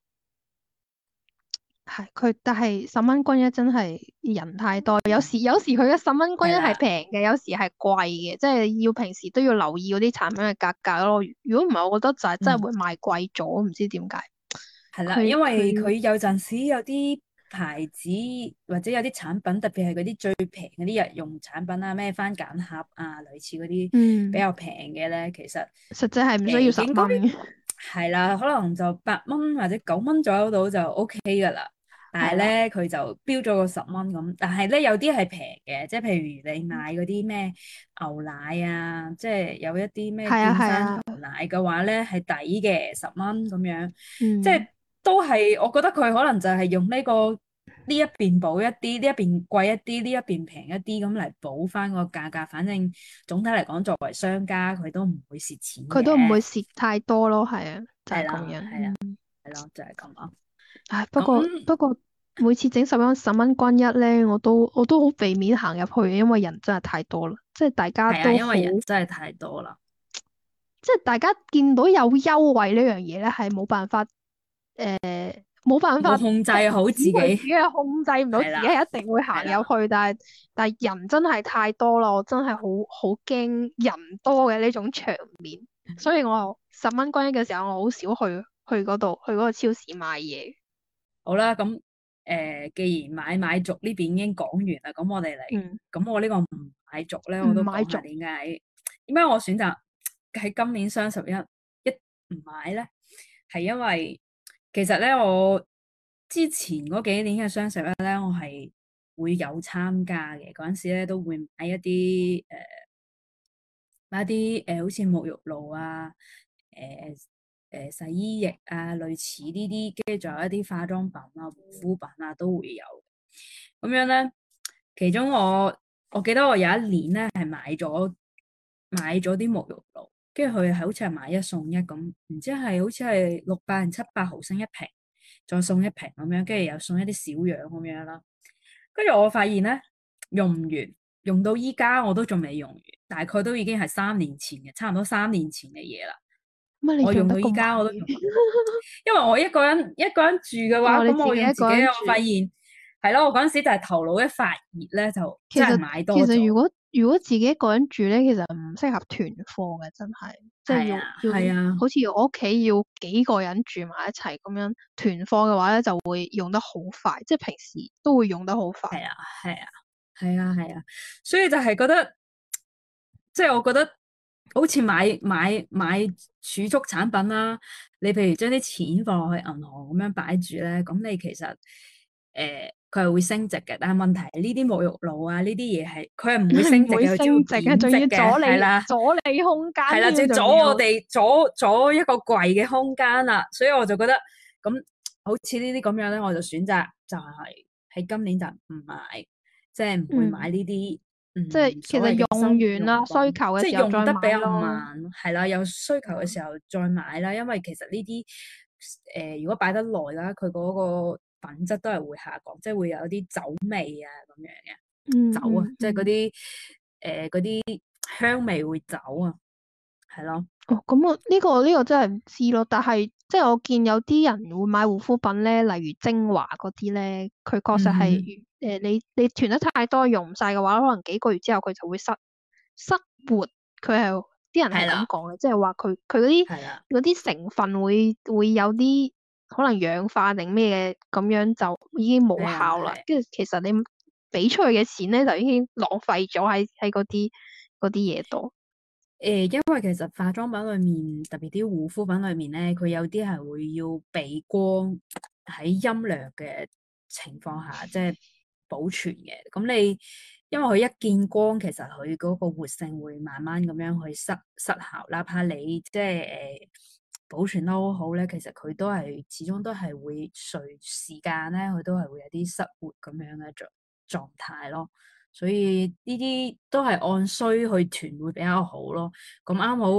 係佢，但係十蚊均一真係人太多，有時有時佢嘅十蚊均一係係啦， 平嘅，有時係貴嘅，即係要平時都要留意嗰啲產品嘅價格咯。如果唔係，我覺得就係真係嗯。 會賣貴咗，唔知點解。 係啦，因佢佢為佢有陣時有啲牌子或者有啲產品，特別係嗰啲最平嗰啲日用產品啊，咩番梘盒啊，類似嗰啲比嗯， 較平嘅咧，其實實際係唔需要十誒應該蚊嘅， 係啦，可能就八蚊或者九蚊左右到就 O K 噶啦。但係係啦， 咧，佢就標咗個十蚊咁，但係咧有啲係平嘅，即係譬如你買嗰啲咩牛奶啊，即係有一啲咩係啊健山牛係啊， 奶嘅話咧係抵嘅，十蚊咁樣。即係嗯， 都係，我覺得佢可能就係用呢個呢一邊補一啲，呢一邊貴一啲，呢一邊平一啲咁嚟補翻個價格。反正總體嚟講，作為商家，佢都唔會蝕錢佢都唔會嘅。 蝕太多咯，係啊，就係咁係啦， 樣。 係啦， 嗯， 係咯，就係咁咯。 唉，不過咁不過每次整十蚊十蚊均一咧，我都我都好避免行入去，因為人真係太多啦，即係大家係啊， 都好。 因為人真係太多啦， 即係大家見到有優惠呢樣嘢咧，係冇辦法誒，冇辦法冇控制好自阻止佢自己。 己係控制唔到自己， 係啦， 係一定會行係啦， 入去。但係但係人真係太多啦，我真係好好驚人多嘅呢種場面，所以我十蚊均一嘅時候，我好少去去嗰度去嗰個超市買嘢。 好啦，咁誒、呃既然買買族呢邊已經講完啦，咁我哋嚟， 嗯， 咁我呢個唔買族咧， 唔我都買足， 講下點解點解我選擇喺今年雙十一一唔買咧？係因為其實咧，我之前嗰幾年嘅雙十一咧，我係會有參加嘅，嗰陣時咧都會買一啲誒。呃買一啲誒、呃，好似沐浴露啊，誒、誒、洗衣液啊，類似呢啲，跟住仲有一啲化妝品啊、護膚品啊，都會有。咁樣咧，其中我我記得我有一年咧係買咗買咗啲沐浴露，跟住佢係好似係買一送一咁，唔知係好似係六百定七百毫升一瓶，再送一瓶咁樣，跟住又送一啲小樣咁樣啦。跟住我發現咧，用唔完，用到依家我都仲未用完，大概都已經係三年前嘅，差唔多三年前嘅嘢啦。 乜你我用到依用得咁快家我都用， 嘅？ 因為我一個人一個人住嘅話， 哦，你咁我自己一用自己，我個人住。 發現係咯，我嗰陣時就係頭腦一發熱咧，就真係其實其買多咗。 實如果如果自己一個人住咧，其實唔適合團貨嘅，真係即係要係啊，係要啊， 好似我屋企要幾個人住埋一齊咁樣團貨嘅話咧，就會用得好快，即係平時都會用得好快。 係啊，係啊，係啊，係啊，所以就係覺得，即係我覺得好似買買買儲蓄產品啦，你譬如將啲錢放落去銀行咁樣擺住咧，咁你其實誒佢係會升值嘅，但係問題係呢啲沐浴露啊呢啲嘢係佢係唔會升唔會值嘅，佢只會升值嘅，仲要貶值嘅， 阻你係啦。 阻你空間係啦，就添， 要阻仲要。 我哋阻阻一個櫃嘅空間啦，所以我就覺得咁好似呢啲咁樣咧，我就選擇就係喺今年就唔買，即係唔會買嗯， 呢啲即係嗯所謂其實用嘅生活完啦，需用品，即係求嘅時候再買用得比較咯。 慢，係啦，有需求嘅嗯時候再買啦，因為其實呢啲誒如果擺得耐啦，佢嗰個品質都係會下降，即係會有啲酒味啊咁樣嘅。 嗯走啊，即係嗰嗯嗯。 啲誒嗰啲香味會走啊，係咯， 哦，咁我呢個呢個真係唔知咯，但係即係我見有啲人會買護膚品咧，例如精華嗰啲咧，佢確實係嗯誒你你囤得太多用唔晒嘅話，可能幾個月之後佢就會失失活。佢係啲人係係啦， 咁講嘅，即係話佢佢嗰啲係啦， 嗰啲成分會會有啲可能氧化定咩嘅，咁樣就已經冇係啊， 效啦。 係。 跟住其實你俾出去嘅錢咧，就已經浪費咗喺喺嗰啲嗰啲嘢度。 誒，因為其實化妝品裏面，特別啲護膚品裏面咧，佢有啲係會要避光喺陰涼嘅情況下，即係保存嘅。咁你因為佢一見光，其實佢嗰個活性會慢慢咁樣去失失效。哪怕你即係誒保存得好好咧，其實佢都係始終都係會隨時間咧，佢都係會有啲失活咁樣嘅狀狀態咯。所以呢啲都係按需去囤會比較好咯。咁啱好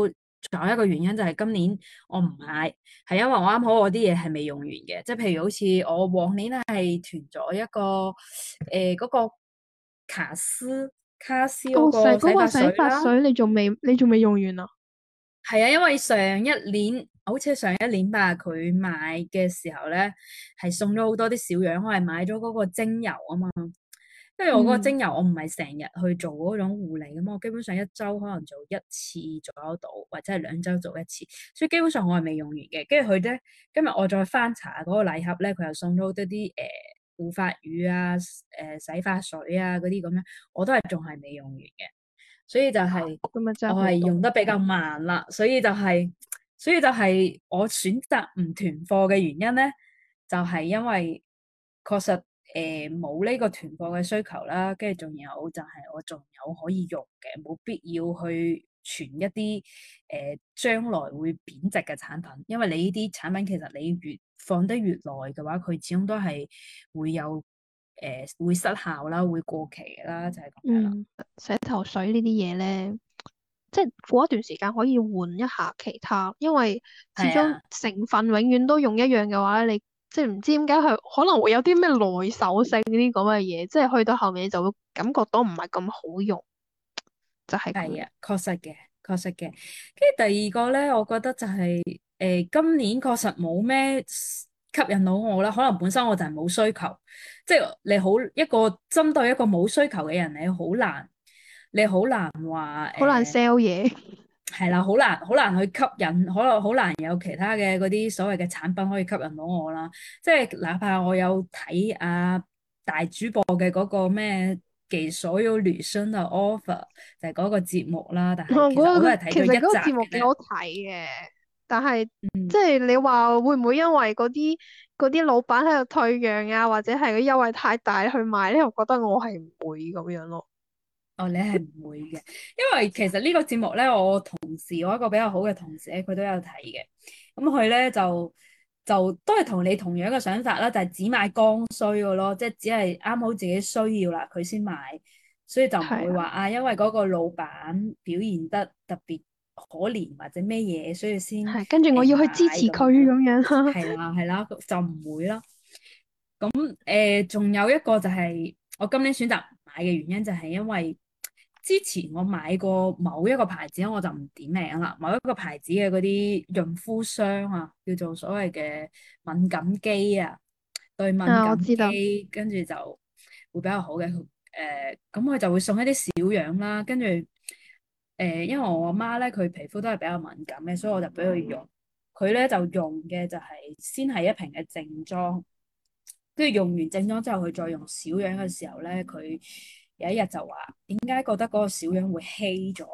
仲有一個原因就係今年我唔買，係因為我啱好我啲嘢係未用完嘅，即係譬如好似我往年係囤咗一個誒嗰、呃嗰個卡斯卡斯嗰哦，洗個洗髮嗰個洗水啦。 髮水你仲未你仲未用完啊？ 係啊，因為上一年好似係上一年吧，佢買嘅時候咧係送咗好多啲小樣，我係買咗嗰個精油啊嘛。跟住我嗰個嗯， 精油，我唔係成日去做嗰種護理咁，我基本上一周可能做一次左右到，或者係兩周做一次，所以基本上我係未用完嘅。跟住佢咧，今日我再翻查嗰個禮盒咧，佢又送咗好多啲誒護髮乳啊、誒、呃、洗髮水啊嗰啲咁樣，我都係仲係未用完嘅。所以就係咁咪真我係係好多。 用得比較慢啦，所以就係，所以就係我選擇唔囤貨嘅原因咧，就係因為確實誒冇呢個囤貨嘅需求啦，跟住仲有就係我仲有可以用嘅，冇必要去存一啲誒將來會貶值嘅產品，因為你呢啲產品其實你越放得越耐嘅話，佢始終都係會有誒會失效啦，會過期啦，就係咁樣啦。 嗯，洗頭水呢啲嘢咧，即係過一段時間可以換一下其他，因為始終係啊。 成分永遠都用一樣嘅話，你即係唔知點解佢可能會有啲咩耐手性呢啲咁嘅嘢，即係去到後面就會感覺到唔係咁好用，就係咁樣。 係啊，確實嘅，確實嘅。跟住第二個咧，我覺得就係、是、誒、呃、今年確實冇咩吸引到我啦。可能本身我就係冇需求，即係你好一個針對一個冇需求嘅人，你好難，你好難話好難誒 sell 嘢。 係啦，好難好難去吸引，可能好難有其他嘅嗰啲所謂嘅產品可以吸引到我啦。即係哪怕我有睇啊大主播嘅嗰個咩給所有女生嘅 offer，就係嗰個節目啦，但我係其實我都覺得佢係睇咗一集其實嗰個節目幾好嘅啫。 睇嘅，但係嗯， 即係你話會唔會因為嗰啲嗰啲老闆喺度退讓啊，或者係個優惠太大去買咧？我覺得我係唔會咁樣咯。 哦，你係唔會嘅，因為其實呢個節目咧，我同事我一個比較好嘅同事咧，佢都有睇嘅。咁佢咧就就都係同你同樣嘅想法啦，就係只買剛需嘅咯，即係只係啱好自己需要啦，佢先買，所以就唔會係啊， 話啊，因為嗰個老闆表現得特別可憐或者咩嘢，所以先係跟住我誒買要去支持佢咁樣。 咁樣。 係啦係啦，就唔會啦。咁誒，仲、有一個就係我今年選擇唔買嘅原因，就係因為之前我買過某一個牌子，我就唔點名啦。某一個牌子嘅嗰啲潤膚霜啊，叫做所謂嘅敏感肌啊，對敏啊，我感知道。 肌，跟住就會比較好嘅。誒、咁佢就會送一啲小樣啦，跟住誒，因為我阿媽咧，佢皮膚都係比較敏感嘅，所以我就俾佢用。佢咧就用嘅就係先係一瓶嘅正裝。跟住用完正裝之後，佢再用小樣嘅時候咧，佢有一日就話點解覺得嗰個小樣會稀咗，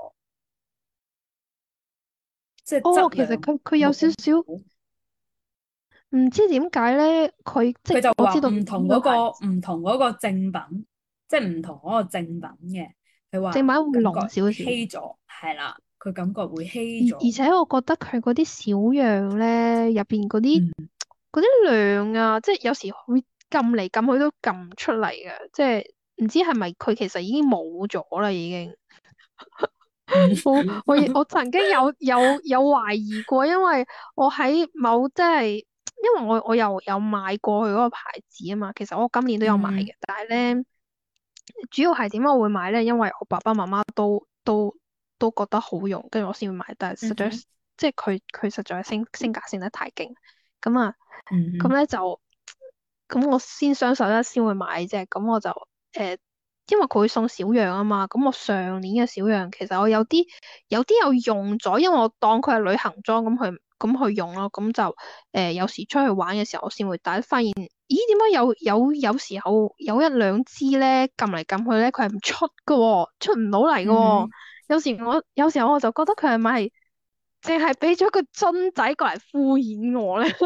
即係哦， 質量其實佢佢有冇咁少少好。 唔知點解咧，佢即係佢就話我知道唔同嗰、 呢個牌個唔同嗰個正品，即係唔同嗰個正品嘅。佢話正版會感覺濃少少。 稀咗，係啦，佢感覺會稀而而咗。 且我覺得佢嗰啲小樣咧，入邊嗰啲嗯嗰啲量啊，即係有時會撳嚟撳去都撳唔出嚟嘅，即係唔知係咪佢其實已經冇咗啦，已經。 嗯我我亦我曾經有有有懷疑過，因為我喺某即係，因為我我又有買過佢嗰個牌子啊嘛，其實我今年都有買嗯嘅，但係咧主要係點解我會買咧？因為我爸爸媽媽都都都覺得好用，跟住我先會買，但係實在嗯哼即係佢佢實在升升價升得太勁，咁啊嗯哼咁咧就咁我先雙十一先會買啫，咁我就誒。呃因為佢會送小樣啊嘛，咁我上年嘅小樣其實我有啲有啲有用咗，因為我當佢係旅行裝咁去咁去用咯，咁就誒、呃、有時出去玩嘅時候我先會帶，發現咦點解有有有時候有一兩支咧撳嚟撳去咧佢係唔出嘅喎，出唔到嚟嘅喎， 嗯哼， 有時我有時候我就覺得佢係咪淨係俾咗個樽仔過嚟敷衍我咧？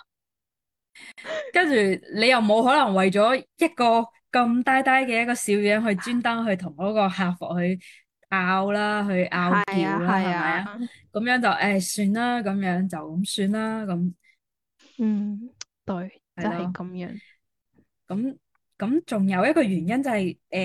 跟住你又冇可能為咗一個咁呆呆嘅一個小樣去專登去同嗰個客服去拗啦，去拗係啊撬啦， 係啊， 係咪啊？咁樣就誒算啦，咁樣就咁算啦，咁嗯，對，就係係咯。 咁樣。 咁咁仲有一個原因就係、誒、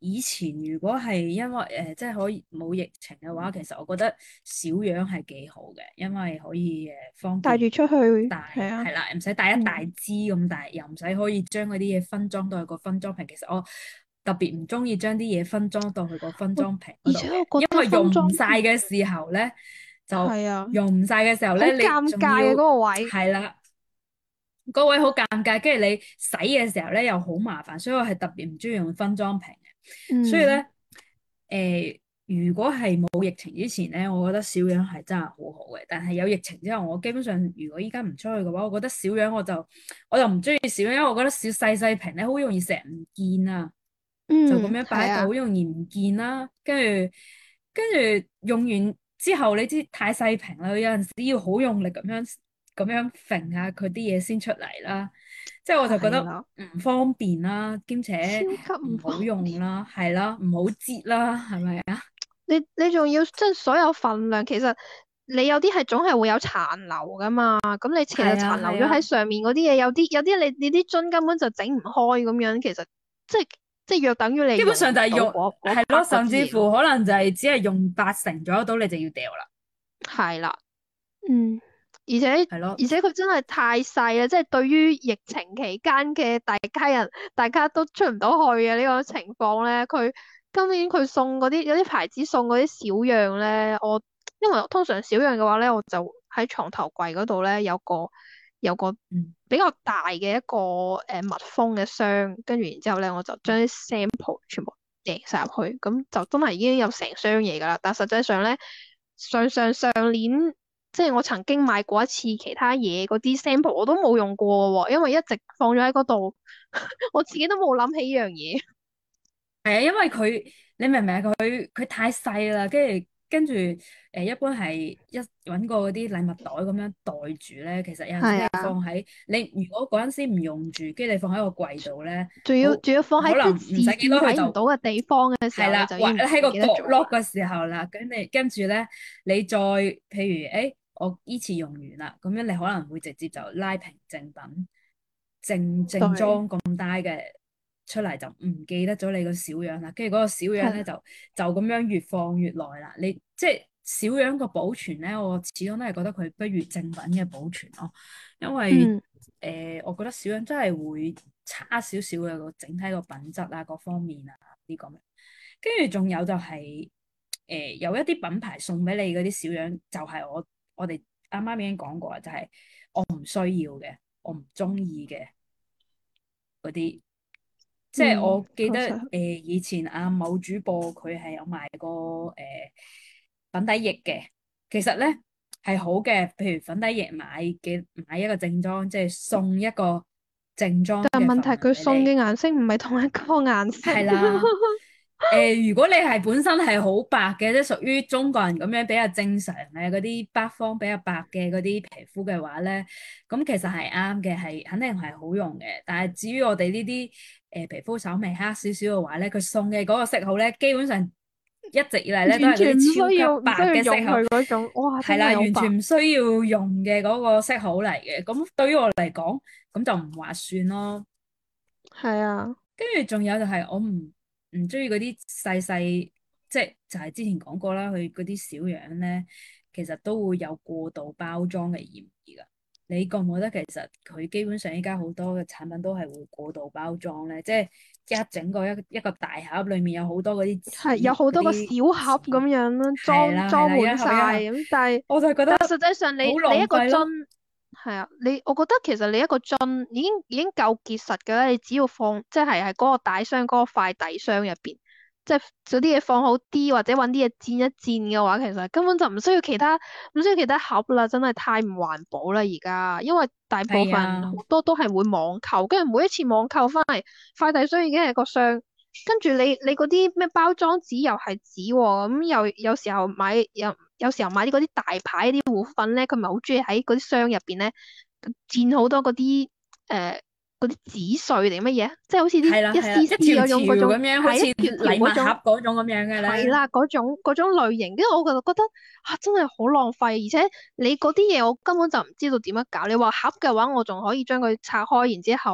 以前如果係因為誒、呃、即係可以冇疫情嘅話，其實我覺得小樣係幾好嘅，因為可以誒方便帶住出去， 帶係啊， 係啦，唔使帶一大嗯， 支咁大，又唔使可以將嗰啲嘢分裝到去個分裝瓶。其實我特別唔中意將啲嘢分裝到去個分我裝瓶嗰度嘅， 而且我覺因為用得分裝唔晒嘅時候咧，就係啊， 用唔晒嘅時候好咧，你尷尬嘅嗰仲要個位， 係啦。嗰位好尷尬，跟住你洗嘅時候咧又好麻煩，所以我係特別唔中意用分裝瓶嘅。所以嗯咧，誒、如果係冇疫情之前咧，我覺得小樣係真係好好嘅。但係有疫情之後，我基本上如果依家唔出去嘅話，我覺得小樣我就我就唔中意小樣，因為我覺得小細細瓶咧好容易成日唔見啊，就咁嗯， 樣擺喺度好係啊， 容易唔見啦。跟住跟住用完之後，你知太細瓶啦，有陣時要好用力咁樣咁樣揈下佢啲嘢先出嚟啦。即係我就覺得係啦， 唔方便啦，兼且超級唔唔好方便。 用啦，係啦，唔好擠啦，係咪啊？ 你你仲要即係所有份量，其實你有啲係總係會有殘留噶嘛。咁你其實係啊， 殘留咗喺係啊， 上面嗰啲嘢，有啲有啲你你啲樽根本就整唔開咁樣，其實即係即係約等於你基本用唔到上就係用嗰嗰係咯， part 嗰甚至啲嘢咯。 乎可能就係只係用八成左右到，你就要掉啦， 係啦。嗯，而且係咯， 而且佢真係太細啦，即係對於疫情期間嘅大家人，大家都出唔到去嘅呢個情況咧，佢今年佢送嗰啲有啲牌子送嗰啲小樣咧，我因為通常小樣嘅話咧，我就喺床頭櫃嗰度咧有個有個嗯， 比較大嘅一個誒、呃密封嘅箱，跟住然之後咧我就將啲 sample 全部掟晒入去，咁就真係已經有成箱嘢㗎啦。但實際上咧，上上上年。即係我曾經買過一次其他嘢嗰啲 sample，我都冇用過喎，因為一直放咗喺嗰度，我自己都冇諗起呢樣嘢。 係啊，因為佢你明唔明啊？佢佢太細啦，跟住跟住誒，一般係一揾個嗰啲禮物袋咁樣袋住咧。其實有陣時你係啊， 放喺你如果嗰陣時唔用住，跟住你放喺個櫃度咧， 仲好要仲要放喺可能啲視唔使幾多佢線睇唔到就。 嘅地方嘅時候，你係啦，或就已經唔喺個角唔記得咗啦。 落嘅時候啦，咁你跟住咧，你再譬如，誒，我依次用完啦，咁樣你可能會直接就拉瓶正品，正正對， 裝咁帶嘅出嚟，就唔記得咗你個小樣啦。跟住嗰個小樣咧， 係， 就就咁樣越放越耐啦。你即係小樣個保存咧，我始終都係覺得佢不如正品嘅保存咯，因為嗯誒、我覺得小樣真係會差少少嘅個整體個品質啊，各方面啊呢個。跟住仲有就係、誒、有一啲品牌送俾你嗰啲小樣，就係我我哋啱啱已經講過啦，就係、我唔需要嘅，我唔中意嘅嗰啲。即係嗯， 我記得誒、 確實， 以前阿某主播佢係有賣過誒、粉底液嘅，其實咧係好嘅，譬如粉底液買嘅買一個正裝，即係送一個正裝但係問題嘅份量佢送嘅俾你。 顏色唔係同一個顏色。 係啦，誒、如果你係本身係好白嘅，即係屬於中國人咁樣比較正常嘅嗰啲北方比較白嘅嗰啲皮膚嘅話咧，咁其實係啱嘅，係肯定係好用嘅。但係至於我哋呢啲誒皮膚稍微黑少少嘅話咧，佢送嘅嗰個色號咧，基本上一直以嚟咧都係嗰完全唔需啲超級白要唔需要嘅色號， 用佢嗰種，哇，真係啦， 係好白。 完全唔需要用嘅嗰個色號嚟嘅。咁對於我嚟講，咁就唔划算咯。 係啊， 跟住仲有就係我唔唔中意嗰啲細細，即係就係之前講過啦，佢嗰啲小樣咧，其實都會有過度包裝嘅嫌疑噶。你覺唔覺得其實佢基本上依家好多嘅產品都係會過度包裝咧？即係一整個一一個大盒裏面有好多嗰啲係有紙好多個小嗰啲盒咁紙， 樣啦， 係啦係啦，一裝裝滿晒盒一盒， 咁，但係我就覺得但係實際上你好你一個浪費咯。 樽係啊，你我覺得其實你一個樽已經已經夠結實嘅啦，你只要放即係係嗰個大箱嗰個快遞箱入邊，即係嗰啲嘢放好啲，或者揾啲嘢墊一墊嘅話，其實根本就唔需要其他唔需要其他盒啦，真係太唔環保啦而家，因為大部分人好係啊， 多都係會網購，跟住每一次網購翻嚟，快遞箱已經係個箱。跟住你你嗰啲咩包裝紙又係紙喎，咁又有時候買有有時候買啲嗰啲大牌啲護膚品咧，佢咪好中意喺嗰啲箱入邊咧墊好多嗰啲誒嗰啲紙碎定乜嘢，即係好似啲係啦係啦，一一絲絲條條嗰種嗰種， 咁樣，好似係一條條禮物嗰種， 盒嗰種咁樣嘅咧。 係啦嗰種嗰種類型，跟住我就覺得啊真係好浪費，而且你嗰啲嘢我根本就唔知道點樣搞。你話盒嘅話，我仲可以將佢拆開，然之後。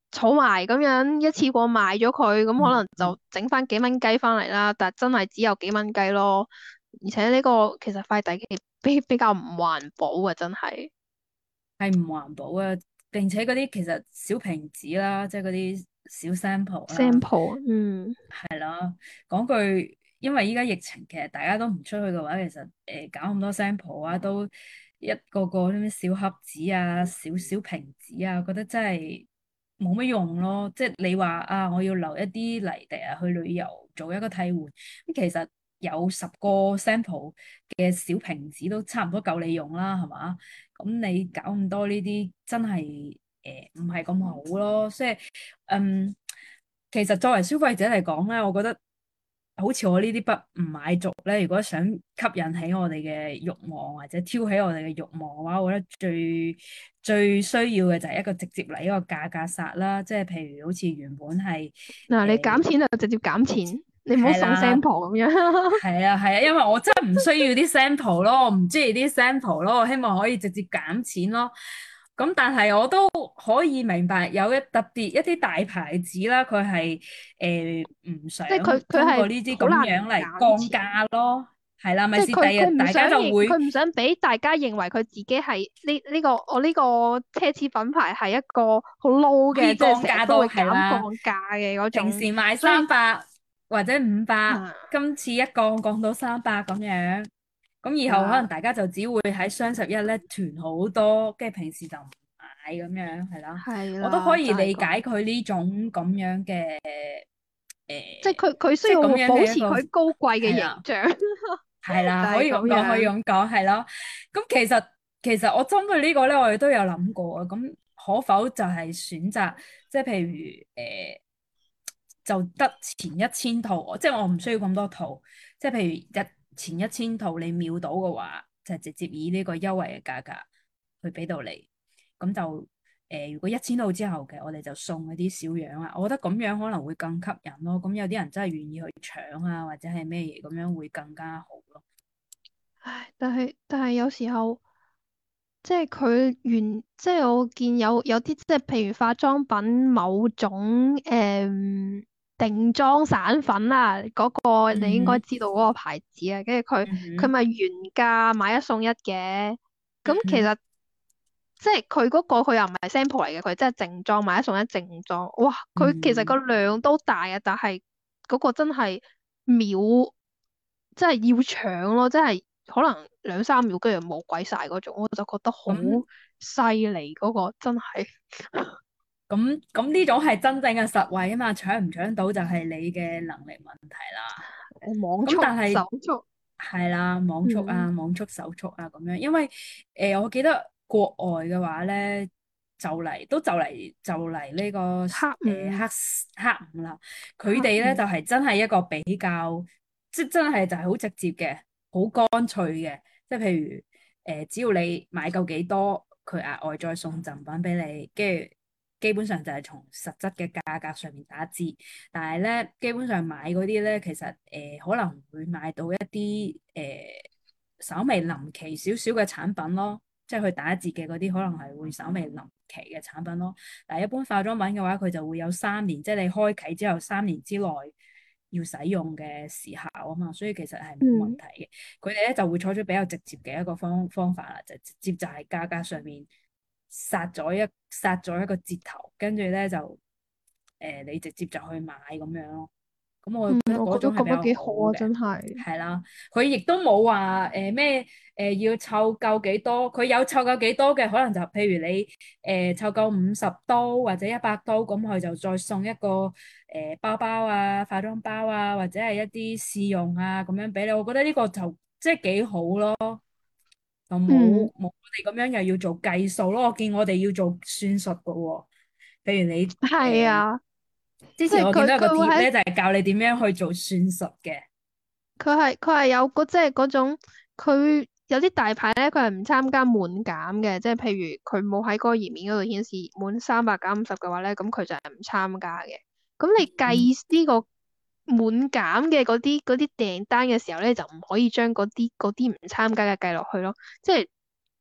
儲埋咁樣一次過賣咗佢，咁可能嗯嗯， 就整翻幾蚊雞翻嚟啦。但真係只有幾蚊雞咯，而且呢個其實快遞比比比較唔環保啊，真係。 係唔環保啊，並且嗰啲其實小瓶子啦，即係嗰啲小 sample 啦。 sample，嗯， 係啦，講句，因為依家疫情，其實大家都唔出去嘅話，其實誒、呃、搞咁多 sample 啊，都一個個啲咩小盒子啊、小小瓶子啊，覺得真係冇乜用咯。即係你話啊，我要留一啲嚟第日去旅遊做一個替換，咁其實有十個 sample 嘅小瓶子都差唔多夠你用啦，係嘛？咁你搞咁多呢啲，真係誒唔係咁好咯。即係嗯。其實作為消費者嚟講咧，我覺得好似我呢啲不唔買族咧，如果想吸引起我哋嘅慾望或者挑起我哋嘅慾望嘅話，我覺得最最需要嘅就係一個直接嚟一個價格殺啦，即係譬如好似原本係嗱，你減誒錢就直接減錢，你唔好送係啦。 sample 咁樣。 係啊係啊，因為我真係唔需要啲 sample 咯，我唔中意啲 sample 咯，我希望可以直接減錢咯。咁但係我都可以明白有一特別一啲大牌子啦，佢係誒唔想即係佢佢係通過呢啲咁好難樣嚟降減錢。 價咯。係啦，咪即係佢是第日佢唔想大家就會認佢唔想俾大家認為佢自己係呢呢個我呢個奢侈品牌係一個好 low 嘅， 可以即係降價到成日都會減降係啦。 價嘅嗰種， 平時賣所以三百或者五百， 啊今次一降降到三百咁樣。咁以後可能啊大家就只會喺雙十一咧囤好多，跟住平時就唔買咁樣，係啦。我都可係啦，就以理解係咁， 佢呢種咁樣嘅誒， 即係佢佢需即係咁要保樣嘅一個持佢高貴嘅係啦， 形象， 係啦， 就係咁可以咁講，可以樣。 咁講，係咯。咁其實其實我針對呢個咧，我哋都有諗過啊。咁可否就係選擇，即係譬如誒，就得前一千套，即係我唔需要咁多套。即係譬如一前一千套你秒到嘅話，就直接以呢個優惠嘅價格去俾到你。咁就誒、呃，如果一千套之後嘅，我哋就送嗰啲小樣啊。我覺得咁樣可能會更吸引咯。咁有啲人真係願意去搶啊，或者係咩嘢咁樣會更加好咯。 唉，但係但係有時候。即係佢原，即係我見有有啲即係譬如化妝品某種誒、嗯定妝散粉啊，嗰、個你應該嗯哼， 知道嗰個牌子啊，跟住佢嗯哼， 佢咪原價買一送一嘅，咁嗯哼， 其實即係佢嗰個佢又唔係 sample 嚟嘅，佢真係正裝買一送一正裝，哇！佢其實個嗯， 量都大啊，但係嗰個真係秒，真係要搶咯，真係可能兩三秒跟住冇鬼晒嗰種，我就覺得好咁犀利嗰個真係。 咁咁呢種係真正嘅實惠啊嘛，搶唔搶到就係你嘅能力問題啦。 誒網速、 咁但係手速， 係啦，網速嗯， 啊、網速手速啊咁樣，因為誒、呃、我記得國外嘅話咧，就嚟都就嚟就嚟呢、個誒、 黑呃、黑五黑五啦，佢黑哋咧就五， 係、是、真係一個比較，即真係就係好直接嘅，好乾脆嘅，即係譬如誒、呃、只要你買夠幾多，佢額外再送贈品俾你，跟住基本上就係從實質嘅價格上面打折。但係咧，基本上買嗰啲咧，其實誒、呃、可能會買到一啲誒、呃、稍微臨期少少嘅產品咯，即係佢打折嘅嗰啲，可能係會稍微臨期嘅產品咯。但係一般化妝品嘅話，佢就會有三年，即係你開啟之後三年之內要使用嘅時效啊嘛，所以其實係冇問嗯題嘅。佢哋咧就會採取比較直接嘅一個方方法啦，就直接就係價格上面殺咗一殺咗一個折頭，跟住咧就誒、呃、你直接就去買咁樣咯。咁我嗯， 覺得我覺得咁樣嗰種係比較幾好啊， 好嘅， 真係。 係啦。佢亦都冇話誒咩誒要湊夠幾多，佢有湊夠幾多嘅，可能就譬如你誒湊夠五十刀或者一百刀，咁佢就再送一個誒、呃、包包啊、化妝包啊，或者係一啲試用啊咁樣俾你。我覺得呢個就即係幾好咯，就嗯， 冇冇我哋咁樣又要做計數咯。我見我哋要做算術嘅喎，譬如你誒、呃係啊， 之即係佢前我見到有個佢會喺貼咧，就係教你點樣去做算術嘅。 佢係佢係有嗰即係嗰種，佢有啲大牌咧，佢係唔參加滿減嘅，即係譬如佢冇喺嗰個頁面嗰度顯示滿三百減五十嘅話咧，咁佢就係唔參加嘅。咁你嗯， 計呢個滿減嘅嗰啲嗰啲訂單嘅時候咧，就唔可以將嗰啲嗰啲唔參加嘅計落去咯。即係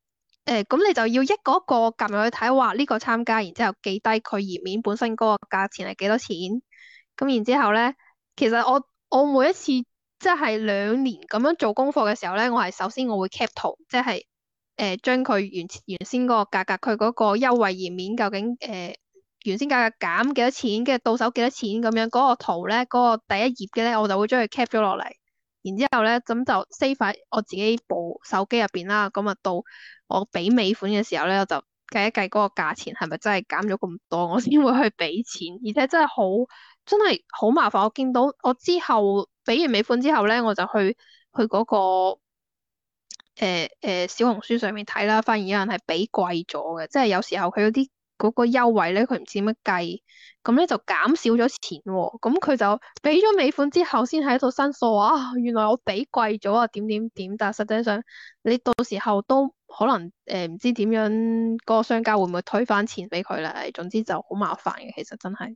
誒，咁你就要一個一個撳入去睇，話呢個參加，然之後記低佢頁面本身嗰個價錢係幾多錢。咁然之後咧，其實我我每一次即係兩年咁樣做功課嘅時候咧，我係首先我會 cap 圖，即係誒將佢原原先嗰個價格，佢嗰個優惠頁面究竟誒、呃、原先價格減幾多錢，跟住到手幾多錢咁樣嗰個圖咧，嗰個第一頁嘅咧，我就會將佢 cap 咗落嚟。然之後咧，咁就 save 喺我自己部手機入邊啦。咁啊到我俾尾款嘅時候咧，我就計一計嗰個價錢係咪真係減咗咁多，我先會去俾錢。而且真係好真係好麻煩。我見到我之後俾完尾款之後咧，我就去去嗰個誒誒小紅書上面睇啦，發現有人係俾貴咗嘅，即係有時候佢嗰啲嗰個優惠咧，佢唔知點樣計，咁咧就減少咗錢喎，咁佢就俾咗尾款之後，先喺度申訴話啊，原來我俾貴咗啊，點點點，但係實際上你到時候都可能誒唔知點樣，嗰個商家會唔會退翻錢俾佢咧？總之就好麻煩嘅，其實真係。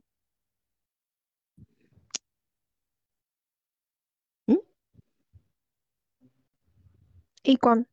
嗯，A 君。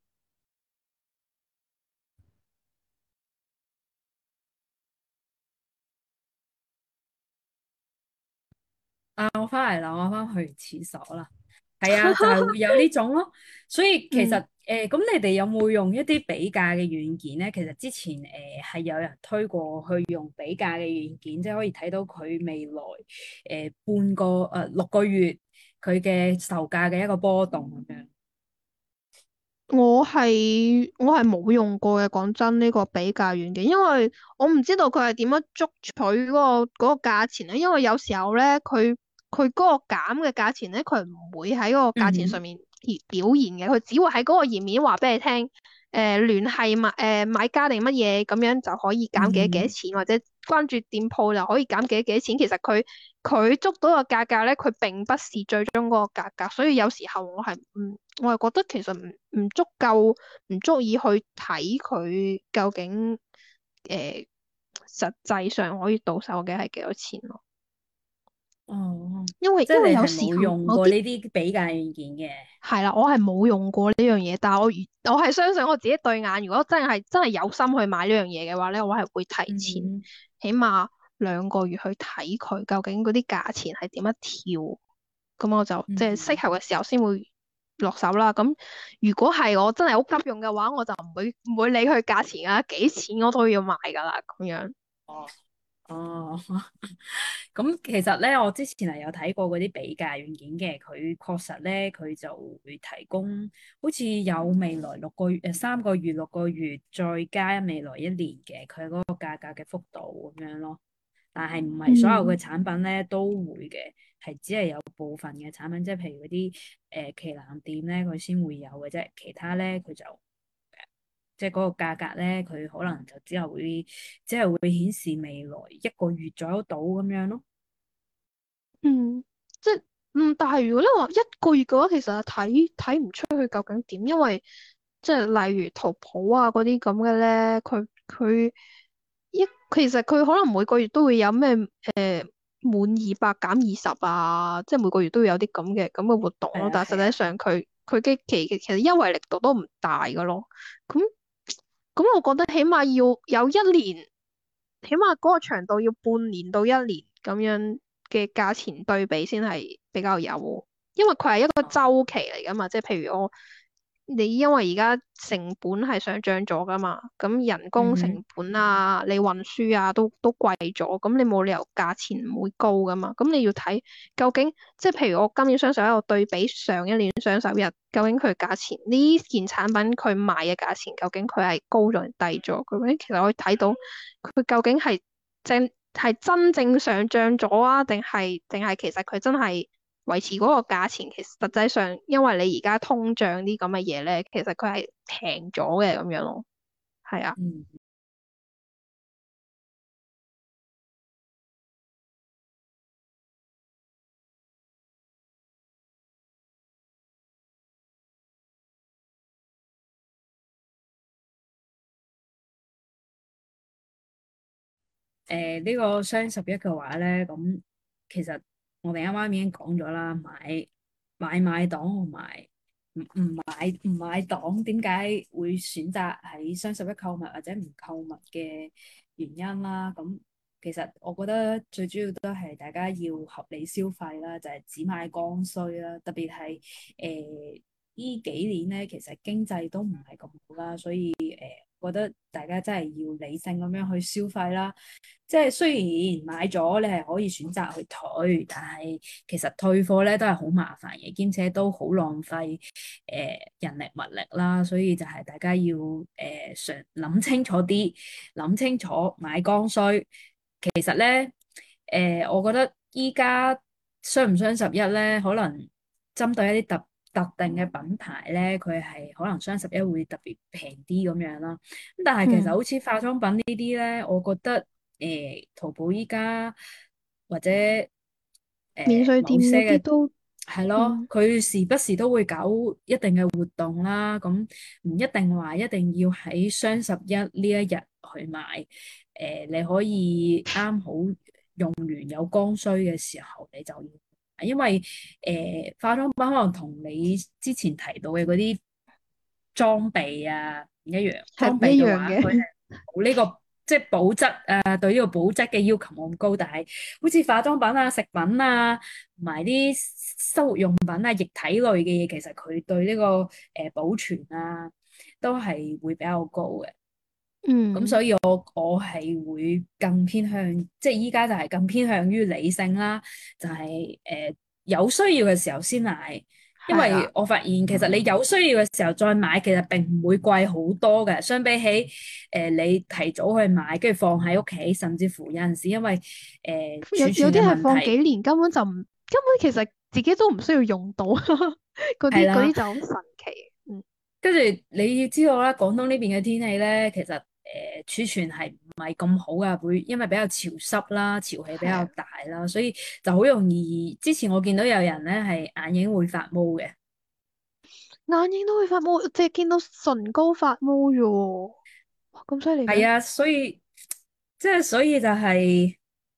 啊，我翻嚟啦，我翻去廁所啦。係啊，就係會有呢種咯。所以其實嗯。 誒，咁、你哋有冇用一啲比價嘅軟件咧？其實之前誒係、有人推過去用比價嘅軟件，即係可以睇到佢未來誒、半個誒、呃六個月佢嘅售價嘅一個波動咁樣。 我係我係冇用過嘅，講真呢個比價軟件，因為我唔知道佢係點樣捉取嗰個嗰個價錢咧。因為有時候咧，佢佢嗰個減嘅價錢咧，佢唔會喺嗰個價錢上嗯哼。 面而表現嘅，佢只會喺嗰個頁面話俾你聽，誒聯繫買誒買家定乜嘢咁樣就可以減幾多幾多嗯錢，或者關注店鋪就可以減幾多幾多錢。其實佢佢捉到個價格咧，佢並不是最終嗰個價格，所以有時候我係唔，我係覺得其實唔唔足夠，唔足以去睇佢究竟誒、呃、實際上可以到手嘅係幾多錢咯。 哦， 因為即係你係因為有時冇用候某啲過呢啲比價軟件嘅。 係啦，我係冇用過呢樣嘢，但係我如我係相信我自己對眼，如果真係真係有心去買呢樣嘢嘅話咧，我係會提前嗯起碼兩個月去睇佢究竟嗰啲價錢係點樣跳。咁我就即係適嗯。 合嘅時候先會落手啦。咁如果係我真係好急用嘅話，我就唔會唔會理佢價錢啊，幾錢我都要買㗎啦。咁樣。 哦。哦。咁其實咧，我之前係有睇過嗰啲比價軟件嘅，佢確實咧，佢就會提供好似有未來六個月、誒三個月、六個月，再加未來一年嘅佢嗰個價格嘅幅度咁樣咯。但係唔係所有嘅嗯產品咧都會嘅，係只係有部分嘅產品，即係譬如嗰啲誒旗艦店咧，佢先會有嘅啫，其他咧佢就。即係嗰個價格咧，佢可能就只係會，只係會顯示未來一個月左右到咁樣咯。 嗯，即係嗯，但係如果你話一個月嘅話，其實係睇睇唔出佢究竟點，因為即係例如淘寶啊嗰啲咁嘅咧，佢佢一其實佢可能每個月都會有咩誒滿二百減二十啊，即係每個月都會有啲咁嘅咁嘅活動咯。 係啊， 但係實際係啊。 上佢佢嘅期其實優惠力度都唔大噶咯。咁咁，我覺得起碼要有一年。起碼嗰個長度要半年到一年咁樣嘅價錢對比先係比較有，因為佢係一個哦。 周期嚟噶嘛，即係譬如我你因為而家成本係上漲咗噶嘛，咁人工成嗯哼。 本啊，你運輸啊都都貴咗，咁你冇理由價錢唔會高噶嘛，咁你要睇究竟即係譬如我今年雙十一我對比上一年雙十一，究竟佢價錢呢件產品佢賣嘅價錢究竟佢係高咗定低咗？究竟其實可以睇到佢究竟係正係真正上漲咗啊，定係定係其實佢真係維持嗰個價錢？其實實際上因為你而家通脹啲咁嘅嘢咧，其實佢係平咗嘅咁樣咯。係啊。 嗯。誒呢個雙十一嘅話咧，咁其實我哋啱啱已經講咗啦，買買買黨同埋唔唔買唔買檔，點解會選擇喺雙十一購物或者唔購物嘅原因啦。咁其實我覺得最主要都係大家要合理消費啦，就係、是、只買剛需啦。特別係誒呢幾年咧，其實經濟都唔係咁好啦，所以誒、呃、覺得大家真係要理性咁樣去消費啦。即係雖然買咗你係可以選擇去退，但係其實退貨咧都係好麻煩嘅，兼且都好浪費誒、呃、人力物力啦。所以就係大家要誒想諗清楚啲，諗清楚買剛需。其實咧誒、呃，我覺得依家雙唔雙十一咧，可能針對一啲特特定嘅品牌咧，佢係可能雙十一會特別平啲咁樣啦。咁但係其實嗯， 好似化妝品呢啲咧，我覺得誒、呃淘寶依家或者誒、 免稅店某些嘅嗰啲都， 係咯， 嗯， 佢時不時都會搞一定嘅活動啦。咁唔一定話一定要喺雙十一呢一日去買。誒、呃，你可以啱好用完有剛需嘅時候，你就要買，因為誒、呃、化妝品可能同你之前提到嘅嗰啲裝備啊唔一樣。裝係唔一備嘅話，佢係樣嘅。 冇呢個即係保質啊，對呢個保質嘅要求冇咁高。但係好似化妝品啊、食品啊，同埋啲生活用品啊、液體類嘅嘢，其實佢對呢、個誒、呃保存啊，都係會比較高嘅。咁嗯， 所以我我係會更偏向，即係依家就係更偏向於理性啦，就係、誒、有需要嘅時候先買。因係啦。 為我發現其實你有需要嘅時候再買，其實並唔會貴好多嘅，相比起誒、你提早去買，跟住放喺屋企，甚至乎有陣時因為誒、 有儲存嘅有啲係問題。 放幾年，根本就唔，根本其實自己都唔需要用到，嗰啲嗰係啦。 啲就好神奇。嗯， 跟住你要知道啦，廣東呢邊嘅天氣咧，其實誒、呃、儲存係唔係咁好噶，會因為比較潮濕啦，潮氣比較係啊， 大啦，所以就好容易。之前我見到有人咧係眼影會發毛嘅。 眼影都會發毛，淨係見到唇膏發毛啫喎。哇，咁犀利咩？ 係啊，所以即係所以就係、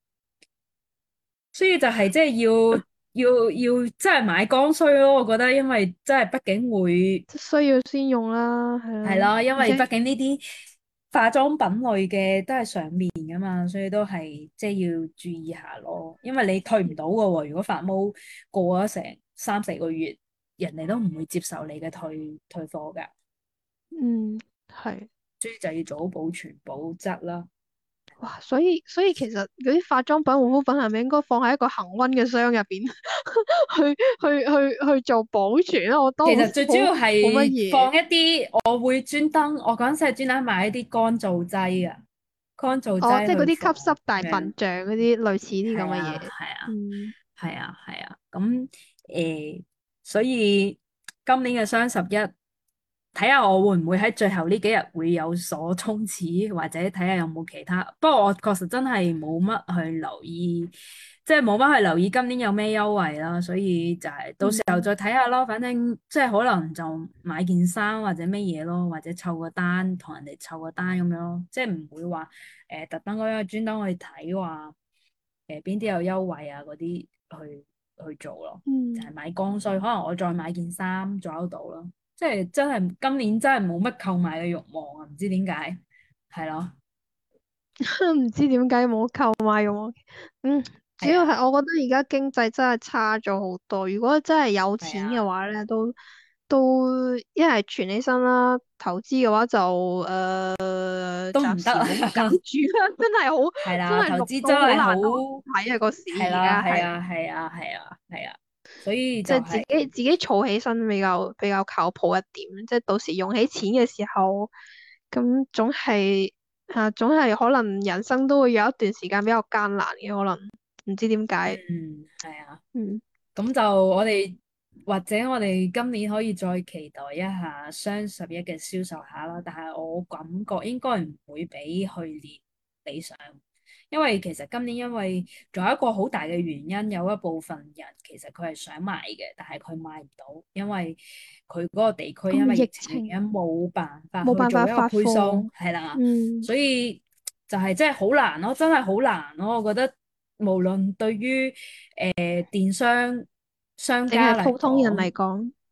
所以就係即係要要要真係買剛需咯。我覺得因為真係畢竟會。 即需要先用啦，係啦。 係咯，因而且為畢竟呢啲化妝品類嘅都係上面噶嘛，所以都係即係要注意下咯。因為你退唔到噶喎，如果發毛過咗成三四個月，人哋都唔會接受你嘅退退貨噶， 嗯，係。 所以就要做好保存保質啦。 哇，所以所以其實嗰啲化妝品、護膚品係咪應該放喺一個恒溫嘅箱入邊去去去去做保存啊？我都好其實最主好要好乜係嘢。 放一啲，我會專登，我嗰陣時係專登買一啲乾燥劑啊，乾燥哦，即係嗰啲劑去放吸濕大咁樣。 笨象嗰啲類似啲咁係啊， 嘅嘢。 係啊。 嗯， 係啊，係啊，咁誒、所以今年嘅雙十一，睇下我會唔會喺最後呢幾日會有所衝刺，或者睇下有冇其他。不過我確實真係冇乜去留意，即係冇乜去留意今年有咩優惠啦，所以就係到時候嗯， 再睇下咯。反正即係可能就買件衫或者乜嘢咯，或者湊個單同人哋湊個單咁樣咯，即係唔會話誒特登嗰樣專登去睇話。誒邊啲有優惠啊嗰啲去去做咯，就係、 嗯。 買剛需，可能我再買件衫左右到咯，即係真係今年真係冇乜購買嘅慾望啊，唔知點解，係咯。 唔知點解冇購買用。嗯，主係啊， 要係我覺得而家經濟真係差咗好多。如果真係有錢嘅係啊， 話咧，都都一係存起身啦，投資嘅話就誒、呃、 都唔得啊。 暫時唔好搞住啦。真係好， 係啦，投真係綠資真係好。 到好難好睇啊個市而係啦， 家係， 係啊，係啊，係啊，係啊，所以就即係自係、 己自己儲起身比較比較靠譜一點。即係到時用起錢嘅時候，咁總係。啊，總係可能人生都會有一段時間比較艱難嘅，可能唔知點解。 嗯，係啊。 嗯， 咁就我哋或者我哋今年可以再期待一下雙十一嘅銷售額啦，但係我感覺應該唔會比去年理想，因為其實今年因為仲有一個好大嘅原因，有一部分人其實佢係想買嘅，但係佢買唔到，因為佢嗰個地區因咁為疫疫情情原因冇辦法冇去做一個辦法發配送， 貨。 係啦， 嗯， 所以就係真係好難咯，真係好難咯，我覺得無論對於誒電商商淨係家嚟普通人嚟講， 講。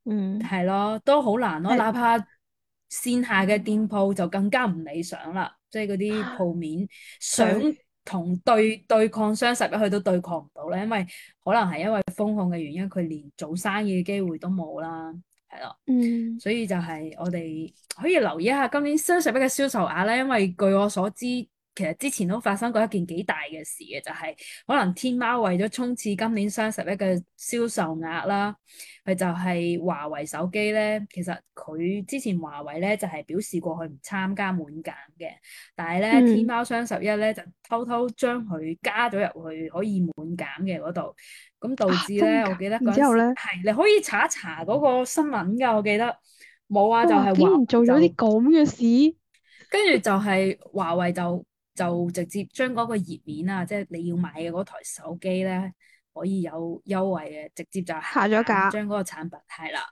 嗯， 係咯，都好難咯。 係， 哪怕線下嘅店鋪就更加唔理想啦，即係嗰啲鋪面想對， 同對對抗雙十一，佢都對抗唔到咧，因為可能係因為風控嘅原因，佢連做生意嘅機會都冇啦，係咯。 嗯所以就係我哋可以留意一下今年雙十一嘅銷售額咧，因為據我所知，其實之前都發生過一件幾大嘅事嘅，就係可能天貓為咗衝刺今年雙十一嘅銷售額啦。佢就係華為手機咧，其實佢之前華為咧就係表示過佢唔參加滿減嘅，但係咧天嗯， 貓雙十一咧就偷偷將佢加咗入去可以滿減嘅嗰度，咁導啊， 致咧， 真㗎。 我記得嗰陣時然之後咧， 係你可以查一查嗰個新聞㗎，我記得冇啊，就哇， 係華竟然做咗啲為就咁嘅事。 跟住就係華為就就直接將嗰個頁面啊，即係你要買嘅嗰台手機咧，可以有優惠嘅，直接就下下咗架， 架。 將嗰個產品係啦。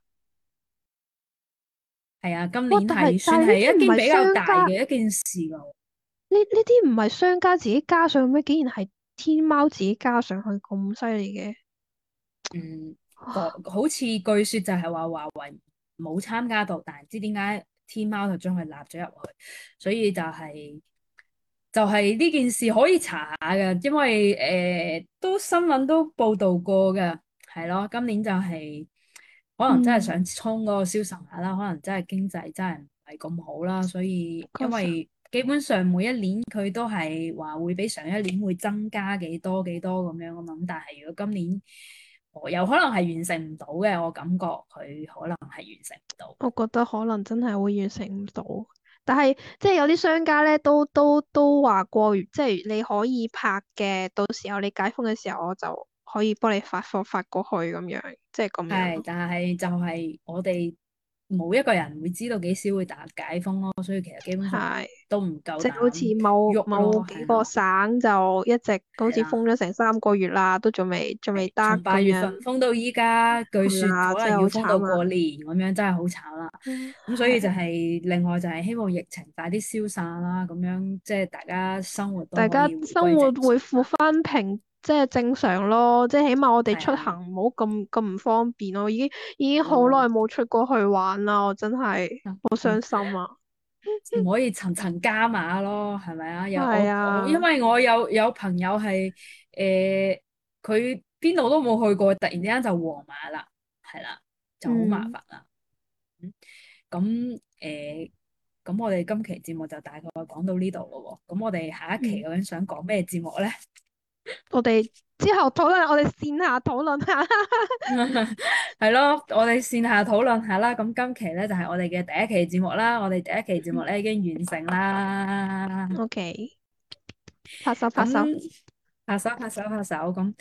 係啊，今哇！ 年但係係算係但係呢啲唔係一件比較商家， 大嘅一件事咯。 呢呢啲唔係商家自己加上咩？竟然係天貓自己加上去咁犀利嘅。 嗯，個哇， 好似據說就係話華為冇參加到，但係唔知點解天貓就將佢納咗入去，所以就係、就係、呢件事可以查下嘅，因為誒、呃都新聞都報道過嘅，係咯，今年就係、可能真係嗯， 想衝嗰個銷售額啦，可能真係經濟真係唔係咁好啦，所以因確實。 為基本上每一年佢都係話會比上一年會增加幾多幾多咁樣啊嘛，咁但係如果今年我有可能係完成唔到嘅，我感覺佢可能係完成唔到。 我覺得可能真係會完成唔到，但係即係有啲商家咧都都都話過，即係你可以拍嘅，到時候你解封嘅時候，我就可以幫你發貨發過去咁樣，即係咁樣係， 咯。 但係就係我哋冇一個人會知道幾時會打解封咯，所以其實基本上係， 都唔夠即係好似膽某某喐咯， 幾個係啦， 省就一直好似係啦。 封咗成三個月啦，都仲未仲未得從八月咁樣。 份封到依家，據說係啊，真係好可能要封到慘啊！ 過年咁樣，真係好慘啦。 嗯， 咁所以就係， 係另外就係希望疫情快啲消散啦，咁樣即係大家生活都大家可以回歸正生活恢復常啦。 翻平，即係正常咯。即係起碼我哋出係啊， 行唔好咁咁唔方便咯。已經已經係咯， 好耐冇出過去玩啦，我真係啊好啊傷心啊！ 唔可以層層加碼咯，係咪啊？有係我我因啊， 為我有有朋友係誒，佢邊度都冇去過，突然之間就黃碼啦，係啦，就好麻嗯煩啦。嗯咁誒，咁我哋今期節目就大概講到呢度咯喎。咁我哋下一期嗯， 究竟想講咩節目咧？ 我哋之後討論，我哋線下討論下。 係咯，我哋線下討論下啦。咁今期咧就係我哋嘅第一期節目啦。我哋第一期節目咧已經完成啦。 OK，拍手拍手。 咁拍手拍手拍手咁。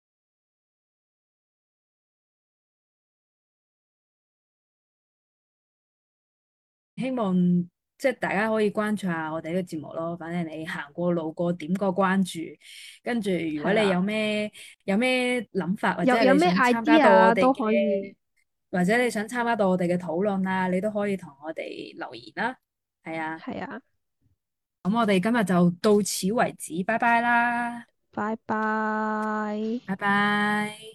希望即係大家可以關注下我哋呢個節目咯。反正你行過路過點個關注，跟住如果你係啦， 有咩有咩諗法，或者係你有有咩想參加到我 idea 都哋嘅， 可以。 或者你想參加到我哋嘅討論啊，你都可以同我哋留言啦。係啊， 係啊， 咁我哋今日就到此為止，拜拜啦， 拜拜。 拜拜。